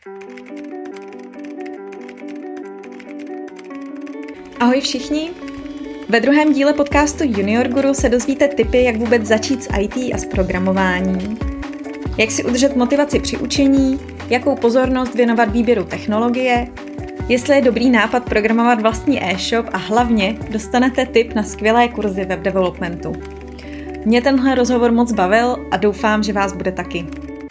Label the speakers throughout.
Speaker 1: Ahoj všichni! Ve druhém díle podcastu Junior Guru se dozvíte tipy, jak vůbec začít s IT a s programováním, jak si udržet motivaci při učení, jakou pozornost věnovat výběru technologie, jestli je dobrý nápad programovat vlastní e-shop a hlavně dostanete tip na skvělé kurzy web developmentu. Mě tenhle rozhovor moc bavil a doufám, že vás bude taky.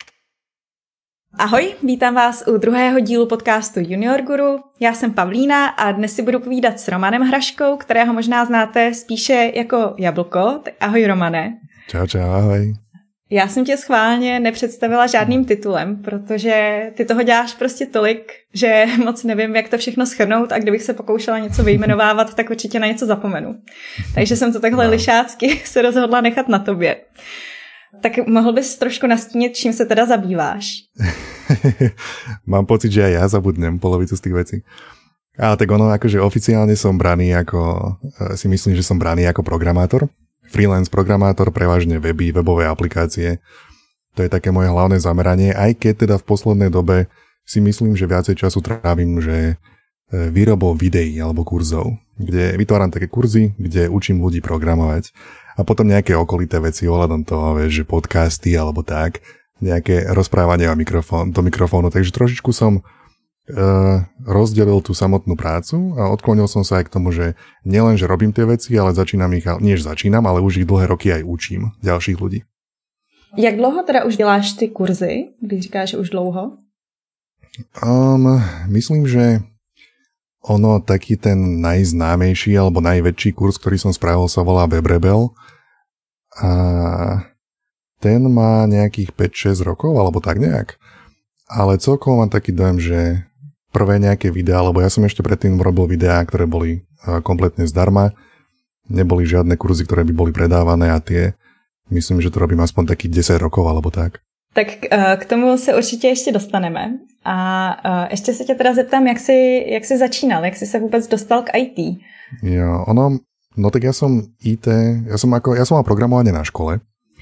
Speaker 1: Ahoj, vítám vás u druhého dílu podcastu Junior Guru. Já jsem Pavlína a dnes si budu povídat s Romanem Hraškou, kterého možná znáte spíše jako Jablko. Ahoj Romane.
Speaker 2: Čau, ahoj.
Speaker 1: Já jsem tě schválně nepředstavila žádným titulem, protože ty toho děláš prostě tolik, že moc nevím, jak to všechno shrnout a kdybych se pokoušela něco vyjmenovávat, tak určitě na něco zapomenu. Takže jsem to takhle lišácky se rozhodla nechat na tobě. Tak mohl bys trošku nastínit, čím sa teda zabýváš?
Speaker 2: Mám pocit, že aj ja zabudnem polovicu z tých vecí. Ale tak ono, akože oficiálne som braný ako, si myslím, že som braný ako programátor. Freelance programátor, prevažne weby, webové aplikácie. To je také moje hlavné zameranie, aj keď teda v poslednej dobe si myslím, že viacej času trávim, že výrobou videí alebo kurzov, kde vytváram také kurzy, kde učím ľudí programovať. A potom nejaké okolité veci ohľadom toho, vieš, že podcasty alebo tak, nejaké rozprávanie do mikrofónu. Takže trošičku som rozdelil tú samotnú prácu a odklonil som sa aj k tomu, že nielen, že robím tie veci, ale ale už ich dlhé roky aj učím ďalších ľudí.
Speaker 1: Jak dlouho teda už děláš ty kurzy, když říkáš, že už dlouho?
Speaker 2: Myslím, že ono taký ten najznámejší alebo najväčší kurz, ktorý som spravil, sa volá WebRebel a ten má nejakých 5-6 rokov alebo tak nejak. Ale celkovo mám taký dojem, že prvé nejaké videá, lebo ja som ešte predtým robil videá, ktoré boli kompletne zdarma, neboli žiadne kurzy, ktoré by boli predávané a tie, myslím, že to robím aspoň takých 10 rokov alebo tak.
Speaker 1: Tak k tomu se určitě ještě dostaneme. A ještě se tě teda zeptám, jak jsi začínal, jak jsi se vůbec dostal k IT?
Speaker 2: Jo, no tak ja som IT, ja som mal programovanie na škole,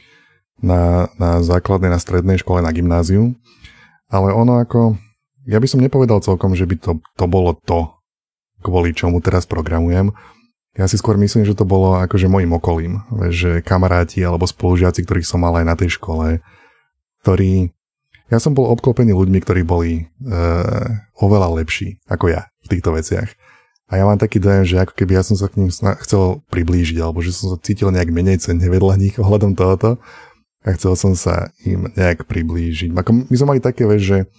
Speaker 2: na základnej, na strednej škole, na gymnáziu, ale ja by som nepovedal celkom, že by to bolo to, kvôli čomu teraz programujem. Ja si skôr myslím, že to bolo akože mojim okolím, že kamaráti alebo spolužiaci, ktorých som mal aj na tej škole, ja som bol obklopený ľuďmi, ktorí boli oveľa lepší ako ja v týchto veciach. A ja mám taký dojem, že ako keby ja som sa k ním chcel priblížiť, alebo že som sa cítil nejak menej cenne vedľa nich ohľadom tohoto a chcel som sa im nejak priblížiť. My sme mali také,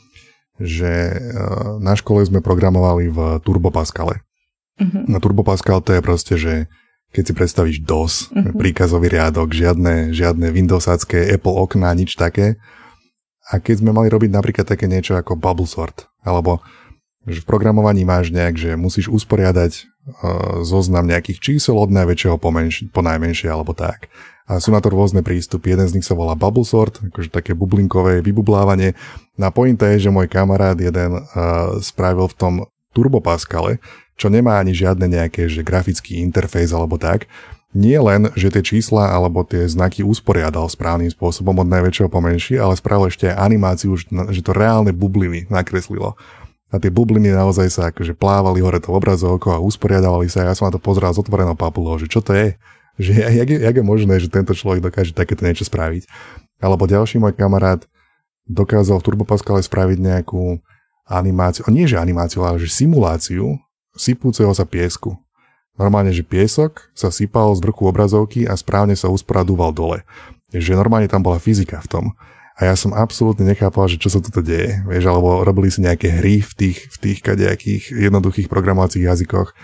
Speaker 2: že na škole sme programovali v Turbo Pascale. Uh-huh. Na Turbo Pascal to je proste, že keď si predstavíš DOS, príkazový riadok, žiadne Windowsácké Apple okná, nič také. A keď sme mali robiť napríklad také niečo ako bubble sort, alebo že v programovaní máš nejak, že musíš usporiadať zoznam nejakých čísel od najväčšieho po najmenšie, alebo tak. A sú na to rôzne prístupy. Jeden z nich sa volá bubble sort, akože také bublinkové vybublávanie. Na pointa je, že môj kamarát jeden spravil v tom Turbo Pascale, čo nemá ani žiadne nejaké že grafický interfejs alebo tak. Nie len, že tie čísla alebo tie znaky usporiadal správnym spôsobom od najväčšieho po menší, ale spravil ešte aj animáciu, že to reálne bubliny nakreslilo. A tie bubliny naozaj sa akože plávali hore to obrazovkou a usporiadavali sa. Ja som na to pozeral s otvorenou papulou, že čo to je? Že jak je možné, že tento človek dokáže takéto niečo spraviť? Alebo ďalší môj kamarát dokázal v Turbo Pascale spraviť nejakú animáciu, nie že animáciu, ale že simuláciu sypúceho sa piesku. Normálne, že piesok sa sypal z vrchu obrazovky a správne sa usporadúval dole. Že normálne tam bola fyzika v tom. A ja som absolútne nechápal, že čo sa toto deje. Vieš, alebo robili si nejaké hry v tých kadejakých jednoduchých programovacích jazykoch.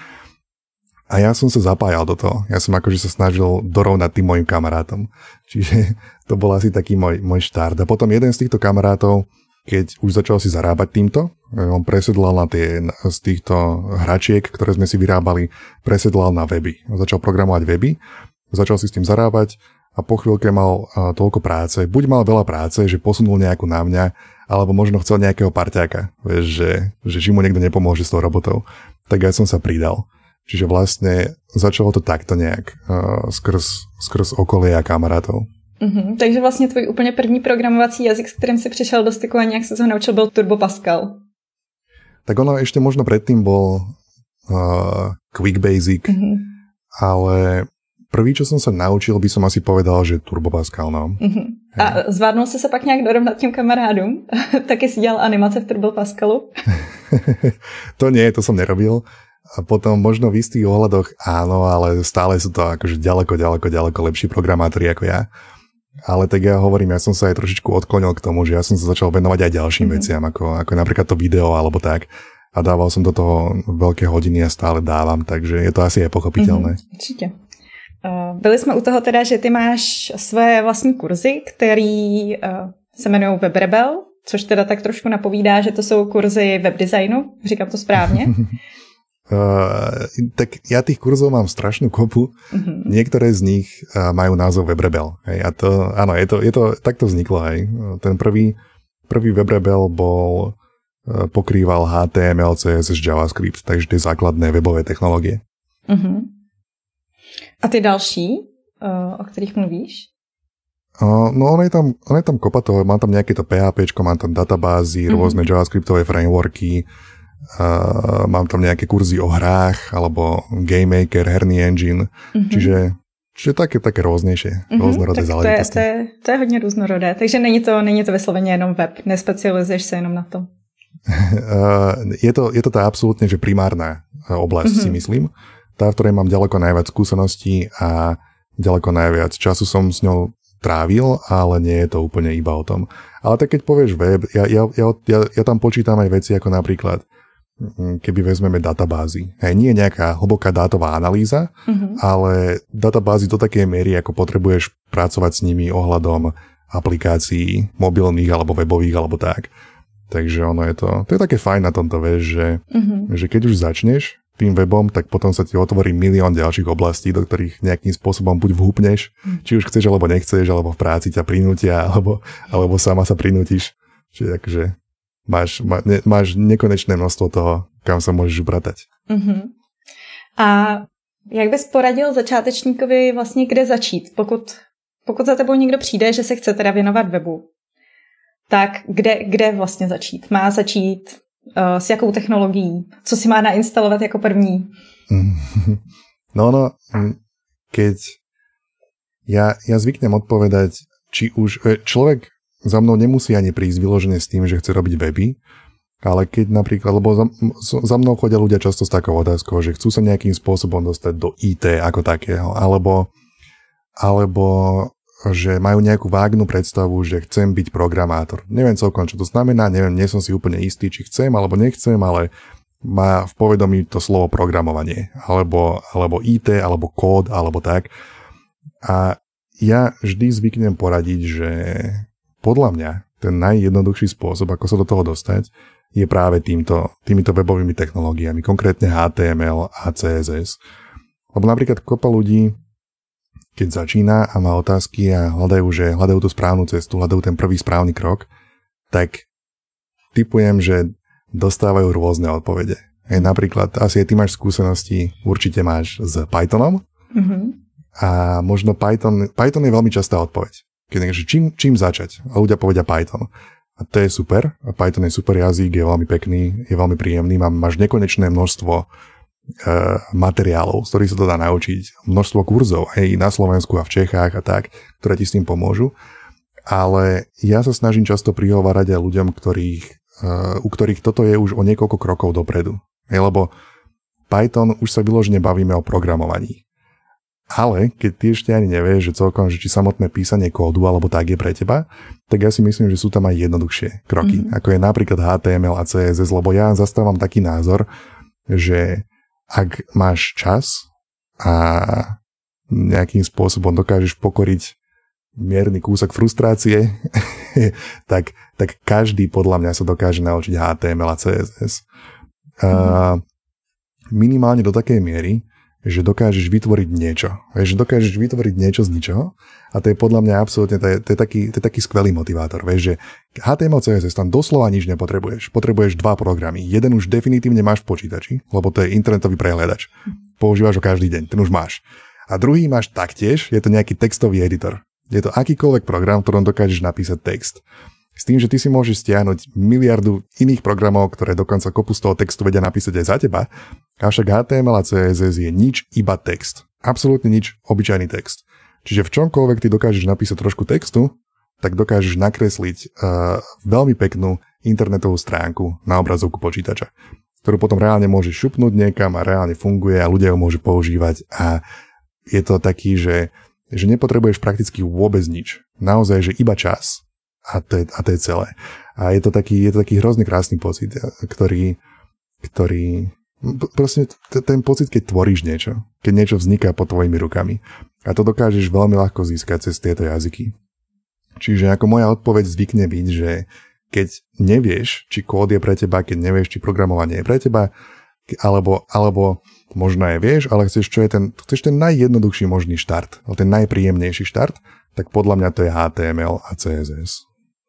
Speaker 2: A ja som sa zapájal do toho. Ja som akože sa snažil dorovnať tým mojim kamarátom. Čiže to bol asi taký môj štart. A potom jeden z týchto kamarátov, keď už začal si zarábať týmto, on presedlal na z týchto hračiek, ktoré sme si vyrábali, presedlal na weby. Začal programovať weby, začal si s tým zarábať a po chvíľke mal toľko práce. Buď mal veľa práce, že posunul nejakú na mňa, alebo možno chcel nejakého parťáka, vieš, že mu niekto nepomôže s tou robotou. Tak ja som sa pridal. Čiže vlastne začalo to takto nejak skrz okolie a kamarátov.
Speaker 1: Takže vlastně tvůj úplně první programovací jazyk, s kterým si přišel do styku a nějak se ho naučil, byl Turbo Pascal.
Speaker 2: Tak ono ešte možno predtým bol Quick Basic, ale prvý, čo som sa naučil, by som asi povedal, že Turbo Pascal, no.
Speaker 1: A zvládnul jsi se pak nějak dorovnat těm kamarádům? Taky si dělal animace v Turbo Pascalu?
Speaker 2: To nie, to som nerobil. A potom možno v istých ohľadoch áno, ale stále sú to akože ďaleko lepší programátori ako ja. Ale tak ja hovorím, ja som sa aj trošičku odklonil k tomu, že ja som sa začal venovať aj ďalším veciam, ako napríklad to video alebo tak. A dával som do toho veľké hodiny a stále dávam, takže je to asi aj pochopiteľné.
Speaker 1: Určitě. Byli jsme u toho teda, že ty máš své vlastní kurzy, který se jmenují WebRebel, což teda tak trošku napovídá, že to jsou kurzy webdesignu, říkám to správně.
Speaker 2: Tak ja tých kurzov mám strašnú kopu. Niektoré z nich majú názov WebRebel. Hej, a to, áno, je to takto vzniklo. Hej. Ten prvý WebRebel pokrýval HTML, CSS, JavaScript, takže tie základné webové technológie.
Speaker 1: A ty další, o kterých mluvíš?
Speaker 2: No ono je tam kopa toho, mám tam nejaké to PHPčko, mám tam databázy, rôzne JavaScriptové frameworky, mám tam nejaké kurzy o hrách, alebo Game Maker, herný engine, čiže také rôznejšie, rôznorodé záležitosti.
Speaker 1: To je hodně různorodé, takže není to vysloveně jenom web, nespecializuješ se jenom na to.
Speaker 2: Je to tá absolútne, že primárna oblasť, si myslím, tá, v ktorej mám ďaleko najviac skúseností a ďaleko najviac času som s ňou trávil, ale nie je to úplne iba o tom. Ale tak keď povieš web, ja tam počítam aj veci ako napríklad, keby vezmeme databázy. Hej, nie je nejaká hlboká dátová analýza, ale databázy do takej miery, ako potrebuješ pracovať s nimi ohľadom aplikácií mobilných alebo webových alebo tak. Takže ono to je také fajn na tomto, vieš, že keď už začneš tým webom, tak potom sa ti otvorí milión ďalších oblastí, do ktorých nejakým spôsobom buď vhúpneš, či už chceš, alebo nechceš, alebo v práci ťa prinútia, alebo sama sa prinútiš. Čiže akože máš nekonečné množstvo toho, kam sa môžeš upratať.
Speaker 1: A jak bys poradil začátečníkovi vlastně kde začít? Pokud za tebou někdo přijde, že se chce teda věnovat webu, tak kde vlastně začít? Má začít s jakou technologií? Co si má nainstalovat jako první?
Speaker 2: No, keď ja zvyknem odpovedať, či už človek za mnou nemusí ani prísť vyložené s tým, že chce robiť weby, ale keď napríklad, lebo za mnou chodia ľudia často s takou otázkou, že chcú sa nejakým spôsobom dostať do IT ako takého, alebo že majú nejakú vágnu predstavu, že chcem byť programátor. Neviem celkom, čo to znamená, nie som si úplne istý, či chcem alebo nechcem, ale má v povedomí to slovo programovanie, alebo IT, alebo kód, alebo tak. A ja vždy zvyknem poradiť, že podľa mňa ten najjednoduchší spôsob, ako sa do toho dostať, je práve týmito webovými technológiami, konkrétne HTML a CSS. Lebo napríklad kopa ľudí, keď začína a má otázky a hľadajú tú správnu cestu, hľadajú ten prvý správny krok, tak tipujem, že dostávajú rôzne odpovede. Napríklad, asi aj ty máš skúsenosti, určite máš s Pythonom a možno Python je veľmi častá odpoveď. Keď čím začať? A ľudia povedia Python. A to je super. A Python je super jazyk, je veľmi pekný, je veľmi príjemný, máš nekonečné množstvo materiálov, z ktorých sa to dá naučiť, množstvo kurzov aj na Slovensku a v Čechách a tak, ktoré ti s tým pomôžu. Ale ja sa snažím často prihovárať aj ľuďom, u ktorých toto je už o niekoľko krokov dopredu. Lebo Python už sa vyložene bavíme o programovaní. Ale keď ty ešte ani nevieš, že celkom, že či samotné písanie kódu alebo tak je pre teba, tak ja si myslím, že sú tam aj jednoduchšie kroky, ako je napríklad HTML a CSS, lebo ja zastávam taký názor, že ak máš čas a nejakým spôsobom dokážeš pokoriť mierny kúsok frustrácie, tak každý podľa mňa sa dokáže naučiť HTML a CSS. Minimálne do takej miery, že dokážeš vytvoriť niečo. Že dokážeš vytvoriť niečo z ničoho a to je podľa mňa absolútne, to je taký skvelý motivátor. Vieš, že HTML, CSS tam doslova nič nepotrebuješ. Potrebuješ 2 programy. Jeden už definitívne máš v počítači, lebo to je internetový prehliadač. Používaš ho každý deň, ten už máš. A druhý máš taktiež, je to nejaký textový editor. Je to akýkoľvek program, v ktorom dokážeš napísať text. S tým, že ty si môžeš stiahnuť miliardu iných programov, ktoré dokonca kopu z toho textu vedia napísať aj za teba, avšak HTML a CSS je nič, iba text. Absolútne nič, obyčajný text. Čiže v čomkoľvek ty dokážeš napísať trošku textu, tak dokážeš nakresliť veľmi peknú internetovú stránku na obrazovku počítača, ktorú potom reálne môžeš šupnúť niekam a reálne funguje a ľudia ju môžu používať a je to taký, že nepotrebuješ prakticky vôbec nič. Naozaj, že iba čas. A to je celé. A je to taký hrozne krásny pocit, ktorý proste ten pocit, keď tvoríš niečo, keď niečo vzniká pod tvojimi rukami. A to dokážeš veľmi ľahko získať cez tieto jazyky. Čiže ako moja odpoveď zvykne byť, že keď nevieš, či kód je pre teba, keď nevieš, či programovanie je pre teba, alebo možno aj vieš, ale chceš ten najjednoduchší možný štart, ten najpríjemnejší štart, tak podľa mňa to je HTML a CSS.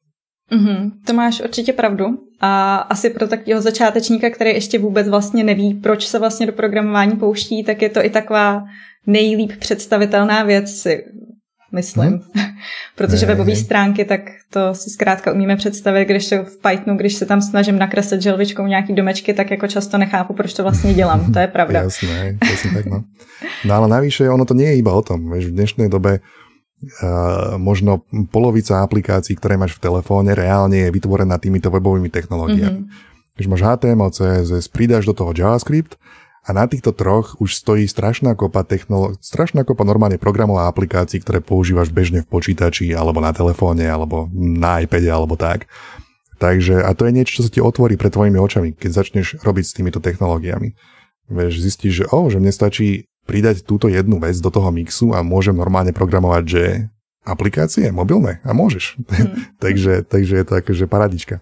Speaker 1: To máš určitě pravdu a asi pro takového začátečníka, který ještě vůbec vlastně neví, proč se vlastně do programování pouští, tak je to i taková nejlíp představitelná věc, si myslím. Protože webové stránky, tak to si zkrátka umíme představit, když to v Pythonu, když se tam snažím nakreslit želvičkou nějaký domečky, tak jako často nechápu, proč to vlastně dělám. To je pravda.
Speaker 2: Jasné tak, no. No ale navyše, ono to nie je iba o tom. Vieš, v dnešnej dobe možno polovica aplikácií, ktoré máš v telefóne, reálne je vytvorená týmito webovými technológiami. Keď máš HTML, CSS, pridáš do toho JavaScript a na týchto troch už stojí strašná kopa normálne programov a aplikácií, ktoré používaš bežne v počítači, alebo na telefóne, alebo na iPade, alebo tak. Takže, a to je niečo, čo sa ti otvorí pred tvojimi očami, keď začneš robiť s týmito technológiami. Vieš, zistíš, že mne stačí pridať túto jednu vec do toho mixu a môžem normálne programovať, že aplikácie mobilné a môžeš. takže je to akože paradička.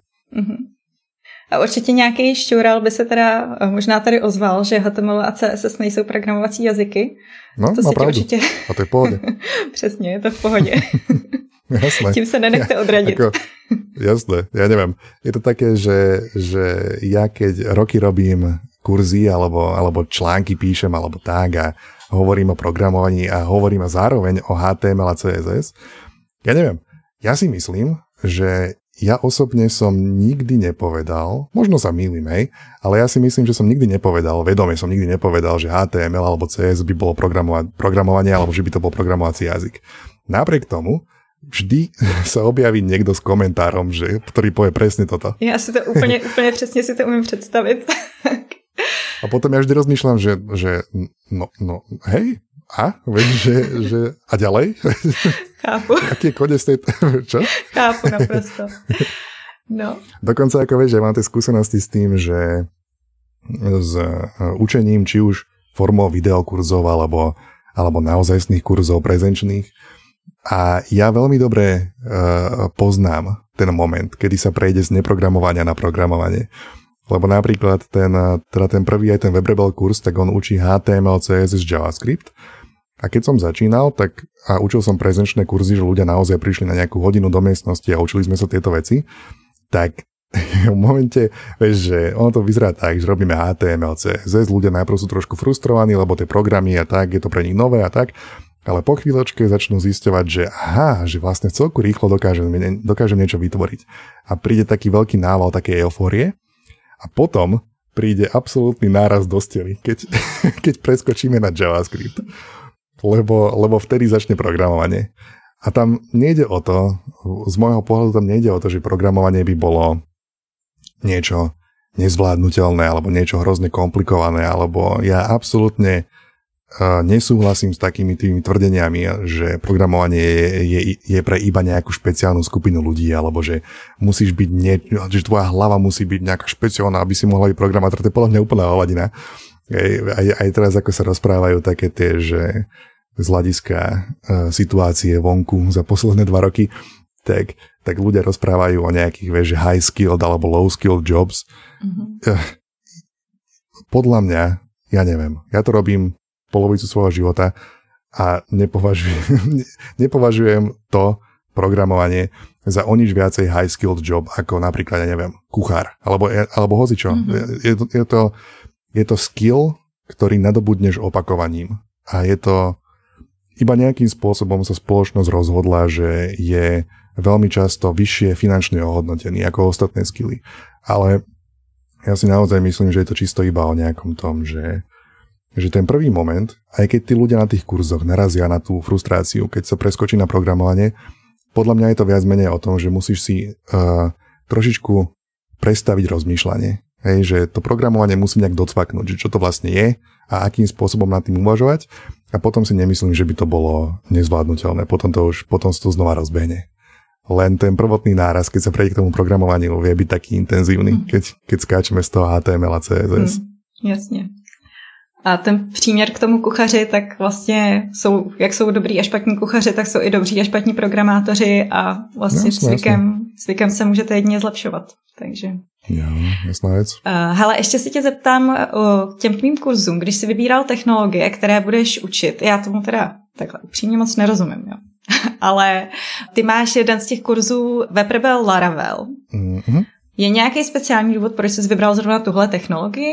Speaker 1: A určitě nějaký šťoural by se teda možná tady ozval, že HTML a CSS nejsou programovací jazyky.
Speaker 2: No,
Speaker 1: to
Speaker 2: má pravdu.
Speaker 1: Určitě...
Speaker 2: A to je v pohode.
Speaker 1: Přesně, je to v pohodě.
Speaker 2: Jasné.
Speaker 1: Tím se nenechte odradit.
Speaker 2: Jasné, ja neviem. Je to také, že ja keď roky robím kurzy alebo články píšem alebo tak a hovorím o programovaní a hovorím zároveň o HTML a CSS. Ja neviem, ja si myslím, že ja osobne som nikdy nepovedal, možno sa mýlim, hej, ale ja si myslím, že som nikdy nepovedal, vedome som nikdy nepovedal, že HTML alebo CS by bolo programovanie alebo že by to bol programovací jazyk. Napriek tomu vždy sa objaví niekto s komentárom, ktorý povie presne toto.
Speaker 1: Ja si to úplne presne si to umiem predstaviť.
Speaker 2: A potom ja vždy rozmýšľam, že no, hej, a? Vieš, že a ďalej?
Speaker 1: Chápu.
Speaker 2: Aký je koniec tej... Čo?
Speaker 1: Chápu naprosto. No.
Speaker 2: Dokonca, ako vieš, ja mám tie skúsenosti s tým, že s učením, či už formou videokurzov, alebo naozajstných kurzov prezenčných. A ja veľmi dobre poznám ten moment, kedy sa prejde z neprogramovania na programovanie. Lebo napríklad ten prvý aj ten WebRebel kurz, tak on učí HTML, CSS, JavaScript. A keď som začínal, tak a učil som prezenčné kurzy, že ľudia naozaj prišli na nejakú hodinu do miestnosti a učili sme sa tieto veci, tak v momente, vieš, že ono to vyzerá tak, že robíme HTML, CSS, ľudia najprv sú trošku frustrovaní, lebo tie programy a tak, je to pre nich nové a tak, ale po chvíľočke začnú zisťovať, že vlastne celku rýchlo dokážem niečo vytvoriť. A príde taký veľký nával takej eufórie. A potom príde absolútny náraz do steny, keď preskočíme na JavaScript. Lebo vtedy začne programovanie. A tam nejde o to, z môjho pohľadu tam nejde o to, že programovanie by bolo niečo nezvládnutelné, alebo niečo hrozne komplikované, alebo ja absolútne nesúhlasím s takými tými tvrdeniami, že programovanie je pre iba nejakú špeciálnu skupinu ľudí, alebo že musíš byť že tvoja hlava musí byť nejaká špeciálna, aby si mohla byť programátor. To je podľa mňa úplná hovadina. Aj teraz, ako sa rozprávajú také tie, že z hľadiska situácie vonku za posledné 2 roky, tak ľudia rozprávajú o nejakých, vieš, high skilled alebo low skilled jobs. Podľa mňa, ja neviem, ja to robím polovicu svojho života a nepovažujem to programovanie za o nič viacej high skilled job ako napríklad, ja neviem, kuchár alebo hocičo. Je to skill, ktorý nadobudneš opakovaním a je iba nejakým spôsobom sa spoločnosť rozhodla, že je veľmi často vyššie finančne ohodnotený ako ostatné skily. Ale ja si naozaj myslím, že je to čisto iba o nejakom tom, že ten prvý moment, aj keď tí ľudia na tých kurzoch narazia na tú frustráciu, keď sa preskočí na programovanie, podľa mňa je to viac menej o tom, že musíš si trošičku prestaviť rozmýšľanie. Hej, že to programovanie musí nejak docvaknúť, že čo to vlastne je a akým spôsobom nad tým uvažovať a potom si nemyslím, že by to bolo nezvládnutelné. Potom sa to znova rozbehne. Len ten prvotný náraz, keď sa prejde k tomu programovaniu, vie byť taký intenzívny, keď skáčeme z toho HTML a CSS.
Speaker 1: Jasně. A ten příměr k tomu kuchaři, tak vlastně jak jsou dobrý a špatní kuchaři, tak jsou i dobří a špatní programátoři a vlastně cvikem se můžete jedině zlepšovat. Takže...
Speaker 2: Jo, jasná věc.
Speaker 1: Hele, ještě si tě zeptám k těm tvým kurzům, když jsi vybíral technologie, které budeš učit, já tomu teda takhle upřímně moc nerozumím, jo. Ale ty máš jeden z těch kurzů WebRebel Laravel. Mm-hmm. Je nějaký speciální důvod, proč jsi vybral zrovna tuhle technologii?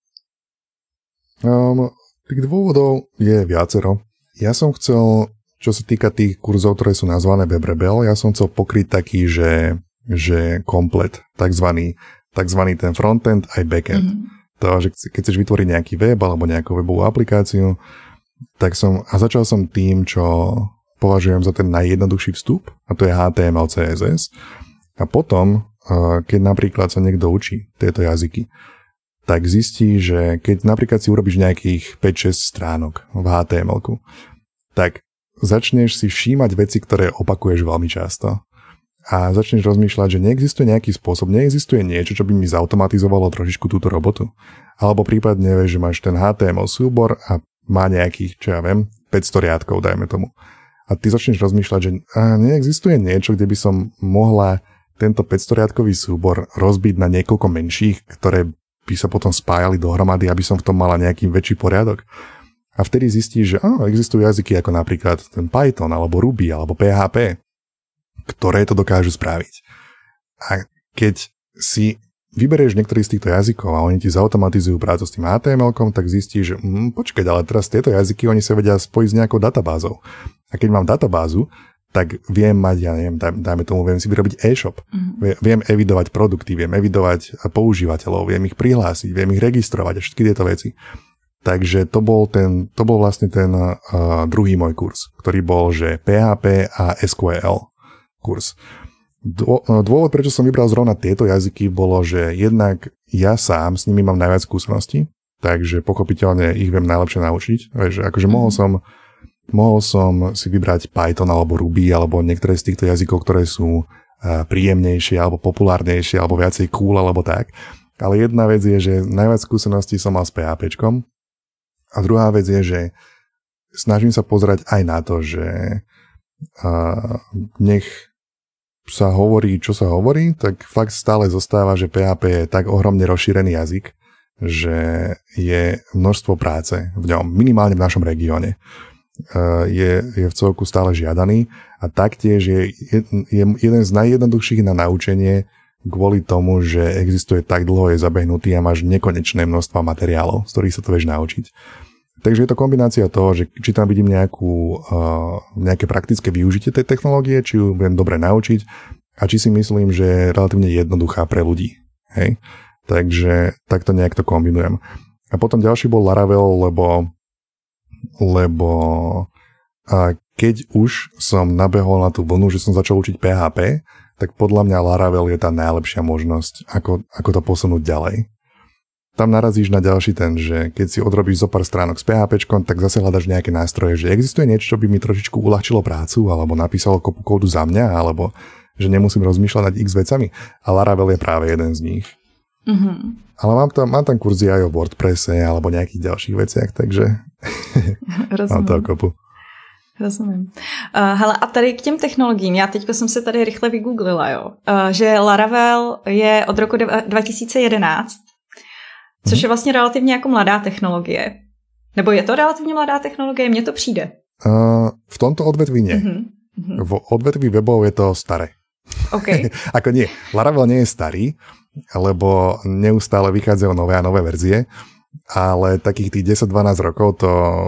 Speaker 2: Tých dôvodov je viacero. Ja som chcel, čo sa týka tých kurzov, ktoré sú nazvané WebRebel, ja som chcel pokryť taký, že komplet, takzvaný ten frontend aj backend. Mm-hmm. To, že keď chceš vytvoriť nejaký web alebo nejakú webovú aplikáciu, tak začal som tým, čo považujem za ten najjednoduchší vstup, a to je HTML, CSS. A potom, keď napríklad sa niekto učí tieto jazyky, tak zistí, že keď napríklad si urobíš nejakých 5-6 stránok v HTML-ku, tak začneš si všímať veci, ktoré opakuješ veľmi často. A začneš rozmýšľať, že neexistuje nejaký spôsob, neexistuje niečo, čo by mi zautomatizovalo trošičku túto robotu. Alebo prípadne, vieš, že máš ten HTML súbor a má nejakých, 500 riadkov, dajme tomu. A ty začneš rozmýšľať, že neexistuje niečo, kde by som mohla tento 500 riadkový súbor rozbiť na niekoľko menších, ktoré by sa potom spájali dohromady, aby som v tom mala nejaký väčší poriadok. A vtedy zistíš, že existujú jazyky ako napríklad ten Python, alebo Ruby, alebo PHP, ktoré to dokážu spraviť. A keď si vyberieš niektorý z týchto jazykov a oni ti zautomatizujú prácu s tým HTML-kom, tak zistíš, že počkať, ale teraz tieto jazyky, oni sa vedia spojiť s nejakou databázou. A keď mám databázu, tak viem mať, ja neviem, dajme tomu, viem si vyrobiť e-shop. Mm-hmm. Viem evidovať produkty, viem evidovať používateľov, viem ich prihlásiť, viem ich registrovať a všetky tieto veci. Takže to bol vlastne ten druhý môj kurz, ktorý bol, že PHP a SQL kurz. Dôvod, prečo som vybral zrovna tieto jazyky, bolo, že jednak ja sám s nimi mám najviac skúseností, takže pochopiteľne ich viem najlepšie naučiť. Vieš, akože mohol som si vybrať Python alebo Ruby alebo niektoré z týchto jazykov, ktoré sú príjemnejšie alebo populárnejšie alebo viacej cool alebo tak. Ale jedna vec je, že najviac skúseností som mal s PHPčkom a druhá vec je, že snažím sa pozerať aj na to, že nech sa hovorí, čo sa hovorí, tak fakt stále zostáva, že PHP je tak ohromne rozšírený jazyk, že je množstvo práce v ňom, minimálne v našom regióne. Je v celku stále žiadaný a taktiež je jeden z najjednoduchších na naučenie kvôli tomu, že existuje tak dlho, je zabehnutý a máš nekonečné množstva materiálov, z ktorých sa to vieš naučiť. Takže je to kombinácia toho, že či tam vidím nejaké praktické využitie tej technológie, či ju viem dobre naučiť a či si myslím, že je relatívne jednoduchá pre ľudí. Hej? Takže takto nejak to kombinujem. A potom ďalší bol Laravel, lebo keď už som nabehol na tú vlnu, že som začal učiť PHP, tak podľa mňa Laravel je tá najlepšia možnosť, ako to posunúť ďalej. Tam narazíš na ďalší ten, že keď si odrobíš zo pár stránok s PHPčkom, tak zase hľadaš nejaké nástroje, že existuje niečo, čo by mi trošičku uľahčilo prácu, alebo napísalo kopu kódu za mňa, alebo že nemusím rozmýšľať nad x vecami. A Laravel je práve jeden z nich. Mm-hmm. Ale mám tam kurzy aj o WordPresse alebo nejakých ďalších veciach, takže mám to kopu.
Speaker 1: Rozumím. Hele, a tady k těm technologiím, já teďko jsem se tady rychle vygooglila, jo, že Laravel je od roku 2011, což je vlastně relativně jako mladá technologie. Nebo je to relativně mladá technologie? Mně to přijde.
Speaker 2: V tomto odvetví nie. Mm-hmm. V odvetví webov je to staré.
Speaker 1: Okay.
Speaker 2: Ako nie. Laravel nie je starý, lebo neustále vychádzajú nové a nové verzie, ale takých tých 10-12 rokov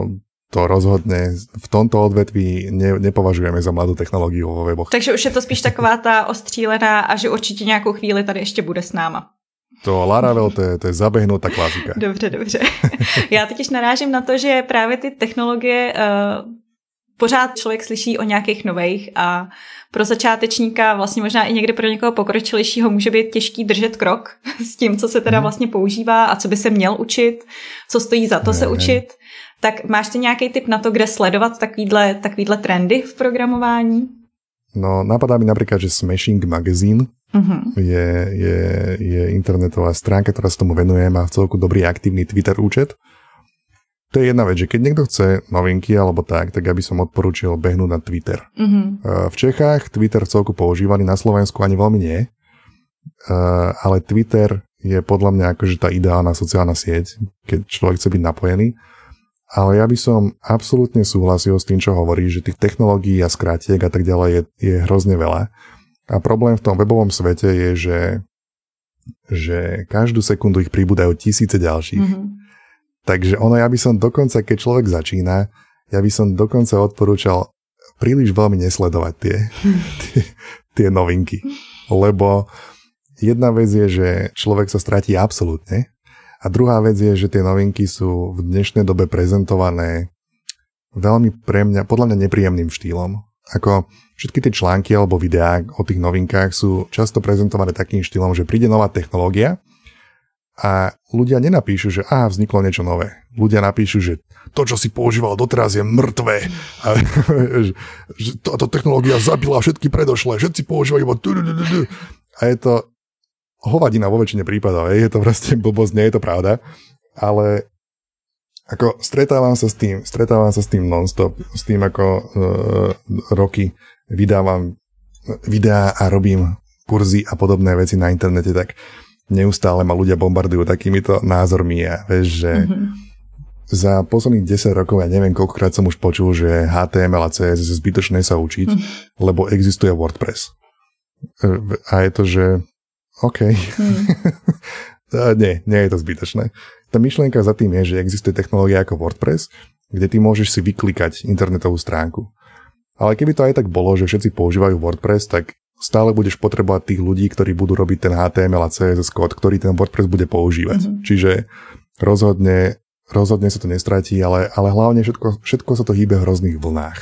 Speaker 2: to rozhodne v tomto odvetví nepovažujeme za mladou technológiu vo weboch.
Speaker 1: Takže už je to spíš taková ta ostřílená a že určitě nějakou chvíli tady ještě bude s náma.
Speaker 2: To Laravel, to je zabehnutá klasika.
Speaker 1: Dobře. Já totiž narážím na to, že právě ty technologie pořád člověk slyší o nějakých nových a pro začátečníka, vlastně možná i někdy pro někoho pokročilejšího může být těžký držet krok s tím, co se teda vlastně používá a co by se měl učit, co stojí za to se učit. Tak máš ty nějaký tip na to, kde sledovat takovýhle trendy v programování?
Speaker 2: No, napadá mi napríklad, že Smashing Magazine je internetová stránka, ktorá sa tomu venuje, má v celku dobrý aktívny Twitter účet. To je jedna vec, že keď niekto chce novinky alebo tak ja by som odporúčil behnúť na Twitter. V Čechách Twitter v celku používaný, na Slovensku ani veľmi nie, ale Twitter je podľa mňa akože tá ideálna sociálna sieť, keď človek chce byť napojený. Ale ja by som absolútne súhlasil s tým, čo hovorí, že tých technológií a skrátiek a tak ďalej je hrozne veľa. A problém v tom webovom svete je, že každú sekundu ich pribúdajú tisíce ďalších. Takže ja by som dokonca, keď človek začína, ja by som dokonca odporúčal príliš veľmi nesledovať tie novinky. Lebo jedna vec je, že človek sa stratí absolútne. A druhá vec je, že tie novinky sú v dnešnej dobe prezentované veľmi podľa mňa nepríjemným štýlom. Ako všetky tie články alebo videá o tých novinkách sú často prezentované takým štýlom, že príde nová technológia a ľudia nenapíšu, že vzniklo niečo nové. Ľudia napíšu, že to, čo si používal doteraz, je mŕtve. A že táto technológia zabila všetky predošlé. Všetci používajú iba a je to hovadina vo väčšine prípadov, je to proste blbosť, nie je to pravda, ale ako stretávam sa s tým non-stop, s tým ako roky vydávam videá a robím kurzy a podobné veci na internete, tak neustále ma ľudia bombardujú takýmito názormi a vieš, že za posledných 10 rokov ja neviem, koľkokrát som už počul, že HTML a CSS je zbytočné sa učiť, lebo existuje WordPress. A je to, že OK. Nie je to zbytočné. Tá myšlienka za tým je, že existuje technológia ako WordPress, kde ty môžeš si vyklikať internetovú stránku. Ale keby to aj tak bolo, že všetci používajú WordPress, tak stále budeš potrebovať tých ľudí, ktorí budú robiť ten HTML a CSS kód, ktorý ten WordPress bude používať. Čiže rozhodne sa to nestratí, ale hlavne všetko sa to hýbe v hrozných vlnách.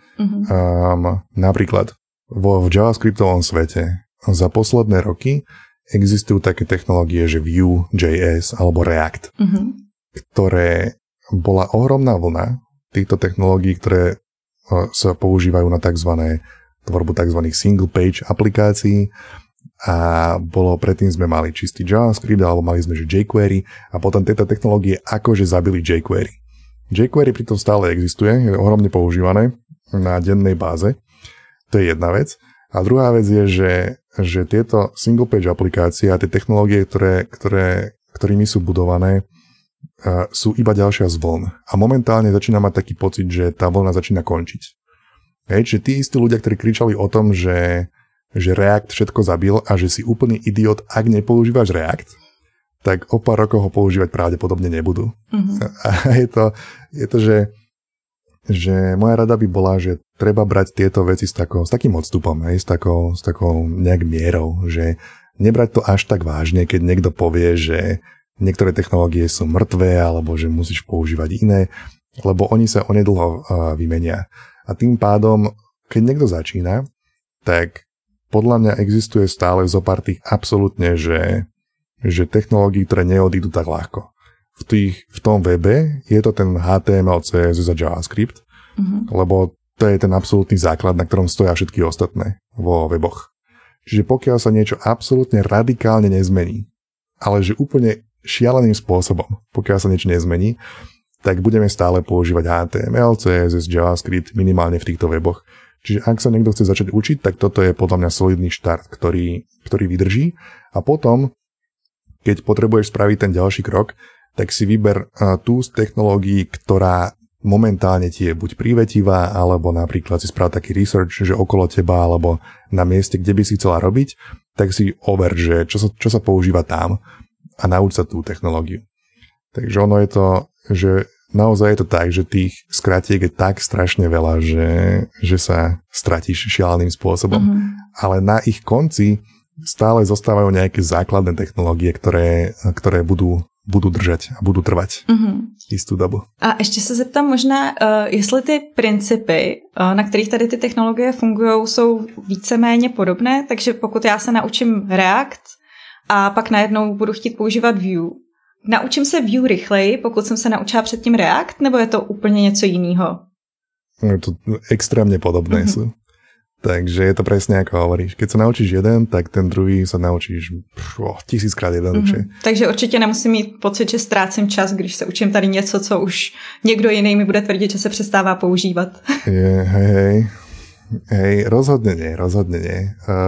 Speaker 2: Napríklad v JavaScriptovom svete za posledné roky existujú také technológie, že Vue.js alebo React, ktoré bola ohromná vlna týchto technológií, ktoré sa používajú na tvorbu tzv. Single page aplikácií a predtým sme mali čistý JavaScript alebo mali sme že jQuery a potom tieto technológie akože zabili jQuery. jQuery pritom stále existuje, je ohromne používané na dennej báze, to je jedna vec. A druhá vec je, že tieto single page aplikácie a tie technológie, ktorými sú budované, sú iba ďalšia z vln. A momentálne začína mať taký pocit, že tá vlna začína končiť. Čiže tí istí ľudia, ktorí kričali o tom, že React všetko zabil a že si úplný idiot, ak nepoužívaš React, tak o pár rokov ho používať pravdepodobne nebudú. A je to, že moja rada by bola, že treba brať tieto veci s takým odstupom, s takou nejak mierou, že nebrať to až tak vážne, keď niekto povie, že niektoré technológie sú mŕtvé, alebo že musíš používať iné, lebo oni sa onedlho vymenia. A tým pádom, keď niekto začína, tak podľa mňa existuje stále zopár tých absolútne, že technológií, ktoré neodídu tak ľahko. V tom webe je to ten HTML, CSS a JavaScript, lebo to je ten absolútny základ, na ktorom stoja všetky ostatné vo weboch. Čiže pokiaľ sa niečo absolútne radikálne nezmení, ale že úplne šialeným spôsobom, pokiaľ sa niečo nezmení, tak budeme stále používať HTML, CSS, JavaScript minimálne v týchto weboch. Čiže ak sa niekto chce začať učiť, tak toto je podľa mňa solidný štart, ktorý vydrží. A potom, keď potrebuješ spraviť ten ďalší krok, tak si vyber tú z technológií, ktorá momentálne ti je buď privetivá, alebo napríklad si sprav taký research, že okolo teba, alebo na mieste, kde by si chcela robiť, tak si over, že čo sa používa tam a nauč sa tú technológiu. Takže ono je to, že naozaj je to tak, že tých skratiek je tak strašne veľa, že sa stratíš šialeným spôsobom. Ale na ich konci stále zostávajú nejaké základné technológie, ktoré budú držať a budú trvať jistou dobu.
Speaker 1: A ještě se zeptám možná, jestli ty principy, na kterých tady ty technologie fungují, jsou víceméně podobné, takže pokud já se naučím React a pak najednou budu chtít používat Vue, naučím se Vue rychleji, pokud jsem se naučila předtím React, nebo je to úplně něco jiného?
Speaker 2: Je to extrémne podobné sú. Takže je to presne ako hovoríš. Keď sa naučíš jeden, tak ten druhý sa naučíš 1000krát jednoduchšie.
Speaker 1: Takže určitě nemusím mít pocit, že ztrácím čas, když se učím tady něco, co už někdo jiný mi bude tvrdit, že se přestává používat.
Speaker 2: Hej, rozhodne nie.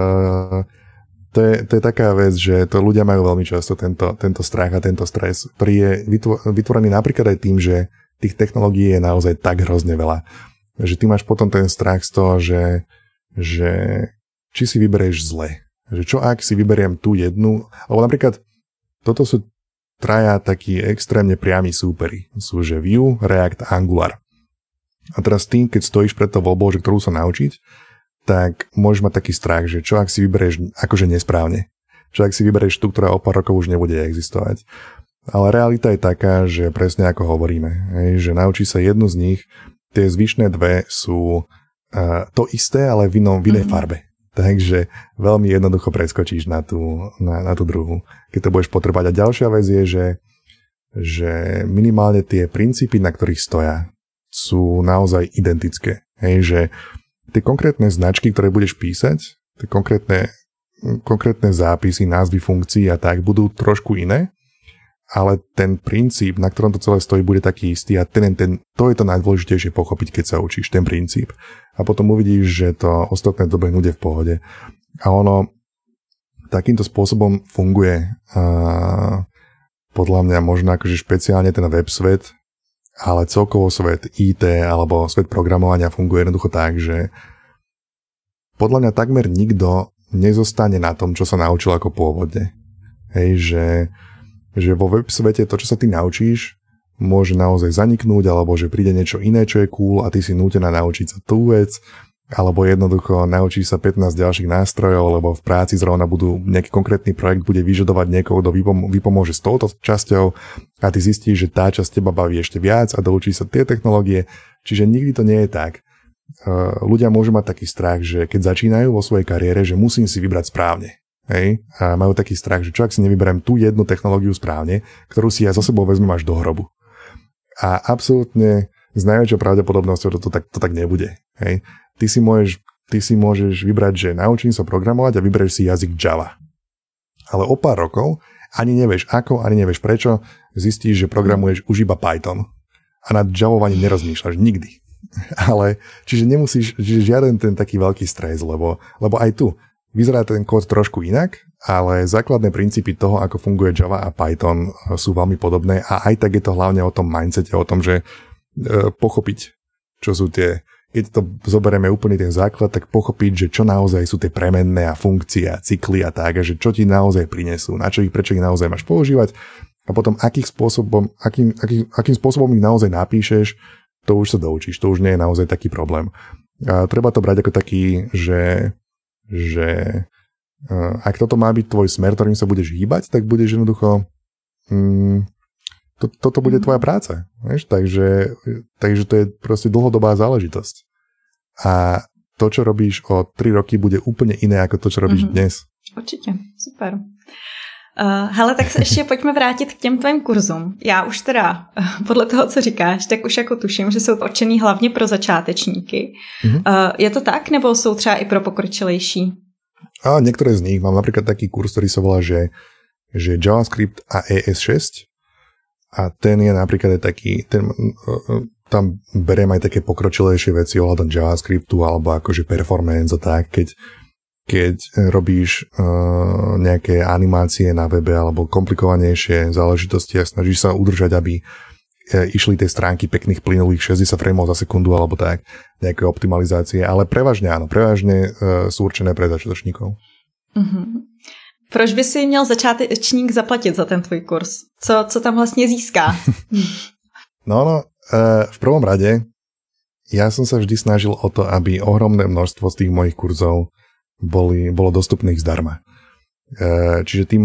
Speaker 2: To je taká vec, že to ľudia majú veľmi často tento strach a tento stres, ktorý je vytvorený napríklad aj tým, že tých technológií je naozaj tak hrozne veľa. Že ty máš potom ten strach z toho, že či si vyberieš zle. Že čo ak si vyberiem tú jednu, alebo napríklad toto sú traja takí extrémne priami súperi. Sú že Vue, React a Angular. A teraz ty, keď stojíš pred tou voľbou, že ktorú sa naučiť, tak môžeš mať taký strach, že čo ak si vyberieš akože nesprávne. Čo ak si vyberieš tú, ktorá o pár rokov už nebude existovať. Ale realita je taká, že presne ako hovoríme, že naučíš sa jednu z nich, tie zvyšné dve sú to isté, ale v inej farbe. Takže veľmi jednoducho preskočíš na tú druhú, keď to budeš potrebať. A ďalšia vec je, že minimálne tie princípy, na ktorých stoja, sú naozaj identické. Že tie konkrétne značky, ktoré budeš písať, tie konkrétne zápisy, názvy funkcií a tak, budú trošku iné, ale ten princíp, na ktorom to celé stojí, bude taký istý a to je to najdôležitejšie pochopiť, keď sa učíš, ten princíp. A potom uvidíš, že to ostatné dobehnude v pohode. A ono takýmto spôsobom funguje podľa mňa možno akože špeciálne ten web svet, ale celkovo svet IT alebo svet programovania funguje jednoducho tak, že podľa mňa takmer nikto nezostane na tom, čo sa naučil ako pôvodne. Že vo web svete to, čo sa ty naučíš, môže naozaj zaniknúť, alebo že príde niečo iné, čo je cool a ty si nútená naučiť sa tú vec, alebo jednoducho naučíš sa 15 ďalších nástrojov, lebo v práci zrovna nejaký konkrétny projekt bude vyžadovať niekoho, kto vypomôže s touto časťou a ty zistíš, že tá časť teba baví ešte viac a doučíš sa tie technológie, čiže nikdy to nie je tak. Ľudia môžu mať taký strach, že keď začínajú vo svojej kariére, že musím si vybrať správne. A majú taký strach, že čo ak si nevyberiem tú jednu technológiu správne, ktorú si ja za sebou vezmem až do hrobu. A absolútne s najväčšou pravdepodobnosťou to tak nebude. Ty si môžeš vybrať, že naučím sa programovať a vyberieš si jazyk Java. Ale o pár rokov ani nevieš ako, ani nevieš prečo, zistíš, že programuješ už iba Python. A nad Javou ani nerozmýšľaš nikdy. Čiže nemusíš, žiaden ten taký veľký stres, lebo aj tu vyzerá ten kód trošku inak, ale základné princípy toho, ako funguje Java a Python, sú veľmi podobné a aj tak je to hlavne o tom mindsete, o tom, že pochopiť, čo sú tie, keď to zoberieme úplne ten základ, tak pochopiť, že čo naozaj sú tie premenné a funkcie a cykly a tak, a že čo ti naozaj prinesú, prečo ich naozaj máš používať a potom akým spôsobom ich naozaj napíšeš, to už sa doučíš, to už nie je naozaj taký problém. A treba to brať ako taký, že ak toto má byť tvoj smer, ktorým sa budeš hýbať, tak budeš jednoducho toto bude tvoja práca. Vieš? Takže to je proste dlhodobá záležitosť. A to, čo robíš o 3 roky, bude úplne iné ako to, čo robíš dnes.
Speaker 1: Určitě, super. Hele, tak se ještě pojďme vrátit k těm tvým kurzům. Já už teda, podle toho, co říkáš, tak už jako tuším, že jsou určený hlavně pro začátečníky. Je to tak, nebo jsou třeba i pro pokročilejší?
Speaker 2: A niektoré z nich. Mám napríklad taký kurz, ktorý sa volá, že JavaScript a ES6. A ten je napríklad taký, tam beriem aj také pokročilejšie veci ohľadom JavaScriptu alebo akože performance a tak, keď robíš nejaké animácie na webe alebo komplikovanejšie záležitosti a snažíš sa udržať, aby išli tie stránky pekných plynulých 60 frameov za sekundu alebo tak, nejaké optimalizácie, ale prevažne áno, sú určené pre začiatočníkov.
Speaker 1: Proč by si měl začátečník zaplatit za ten tvůj kurz? Co tam vlastně získá?
Speaker 2: v prvom rade ja som sa vždy snažil o to, aby ohromné množstvo z tých mojich kurzov bolo dostupných zdarma. Čiže ty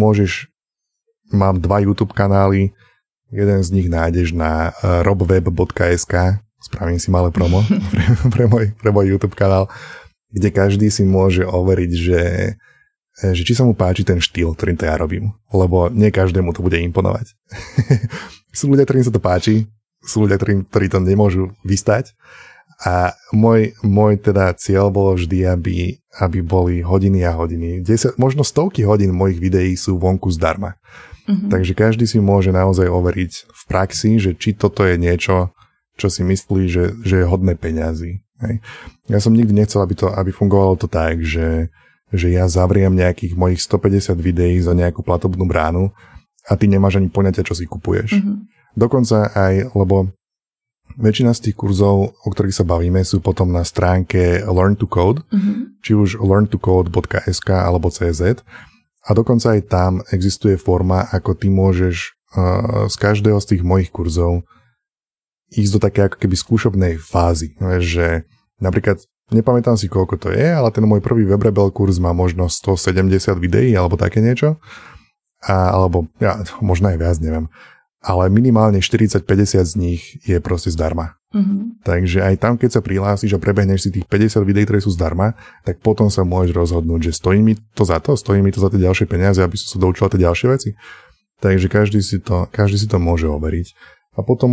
Speaker 2: mám 2 YouTube kanály, jeden z nich nájdeš na robweb.sk, spravím si malé promo pre môj YouTube kanál, kde každý si môže overiť, že či sa mu páči ten štýl, ktorým to ja robím. Lebo nie každému to bude imponovať. Sú ľudia, ktorým sa to páči, sú ľudia, ktorí to nemôžu vystať. A môj teda cieľ bolo vždy, aby boli hodiny a hodiny. 10, možno stovky hodín mojich videí sú vonku zdarma. Mm-hmm. Takže každý si môže naozaj overiť v praxi, že či toto je niečo, čo si myslí, že je hodné peňazí. Hej. Ja som nikdy nechcel, aby fungovalo to tak, že ja zavriem nejakých mojich 150 videí za nejakú platobnú bránu a ty nemáš ani poňatia, čo si kupuješ. Mm-hmm. Dokonca aj, lebo väčšina z tých kurzov, o ktorých sa bavíme, sú potom na stránke Learn to Code, či už learntocode.sk alebo CZ. A dokonca aj tam existuje forma, ako ty môžeš z každého z tých mojich kurzov ísť do také ako keby skúšobnej fázy. Že napríklad, nepamätám si, koľko to je, ale ten môj prvý WebRebel kurz má možno 170 videí alebo také niečo. Alebo možno aj viac, neviem. Ale minimálne 40-50 z nich je proste zdarma. Mm-hmm. Takže aj tam, keď sa prihlásiš a prebehneš si tých 50 videí, ktoré sú zdarma, tak potom sa môžeš rozhodnúť, že stojí mi to za tie ďalšie peniaze, aby som sa doučila tie ďalšie veci. Takže každý si to môže overiť. A potom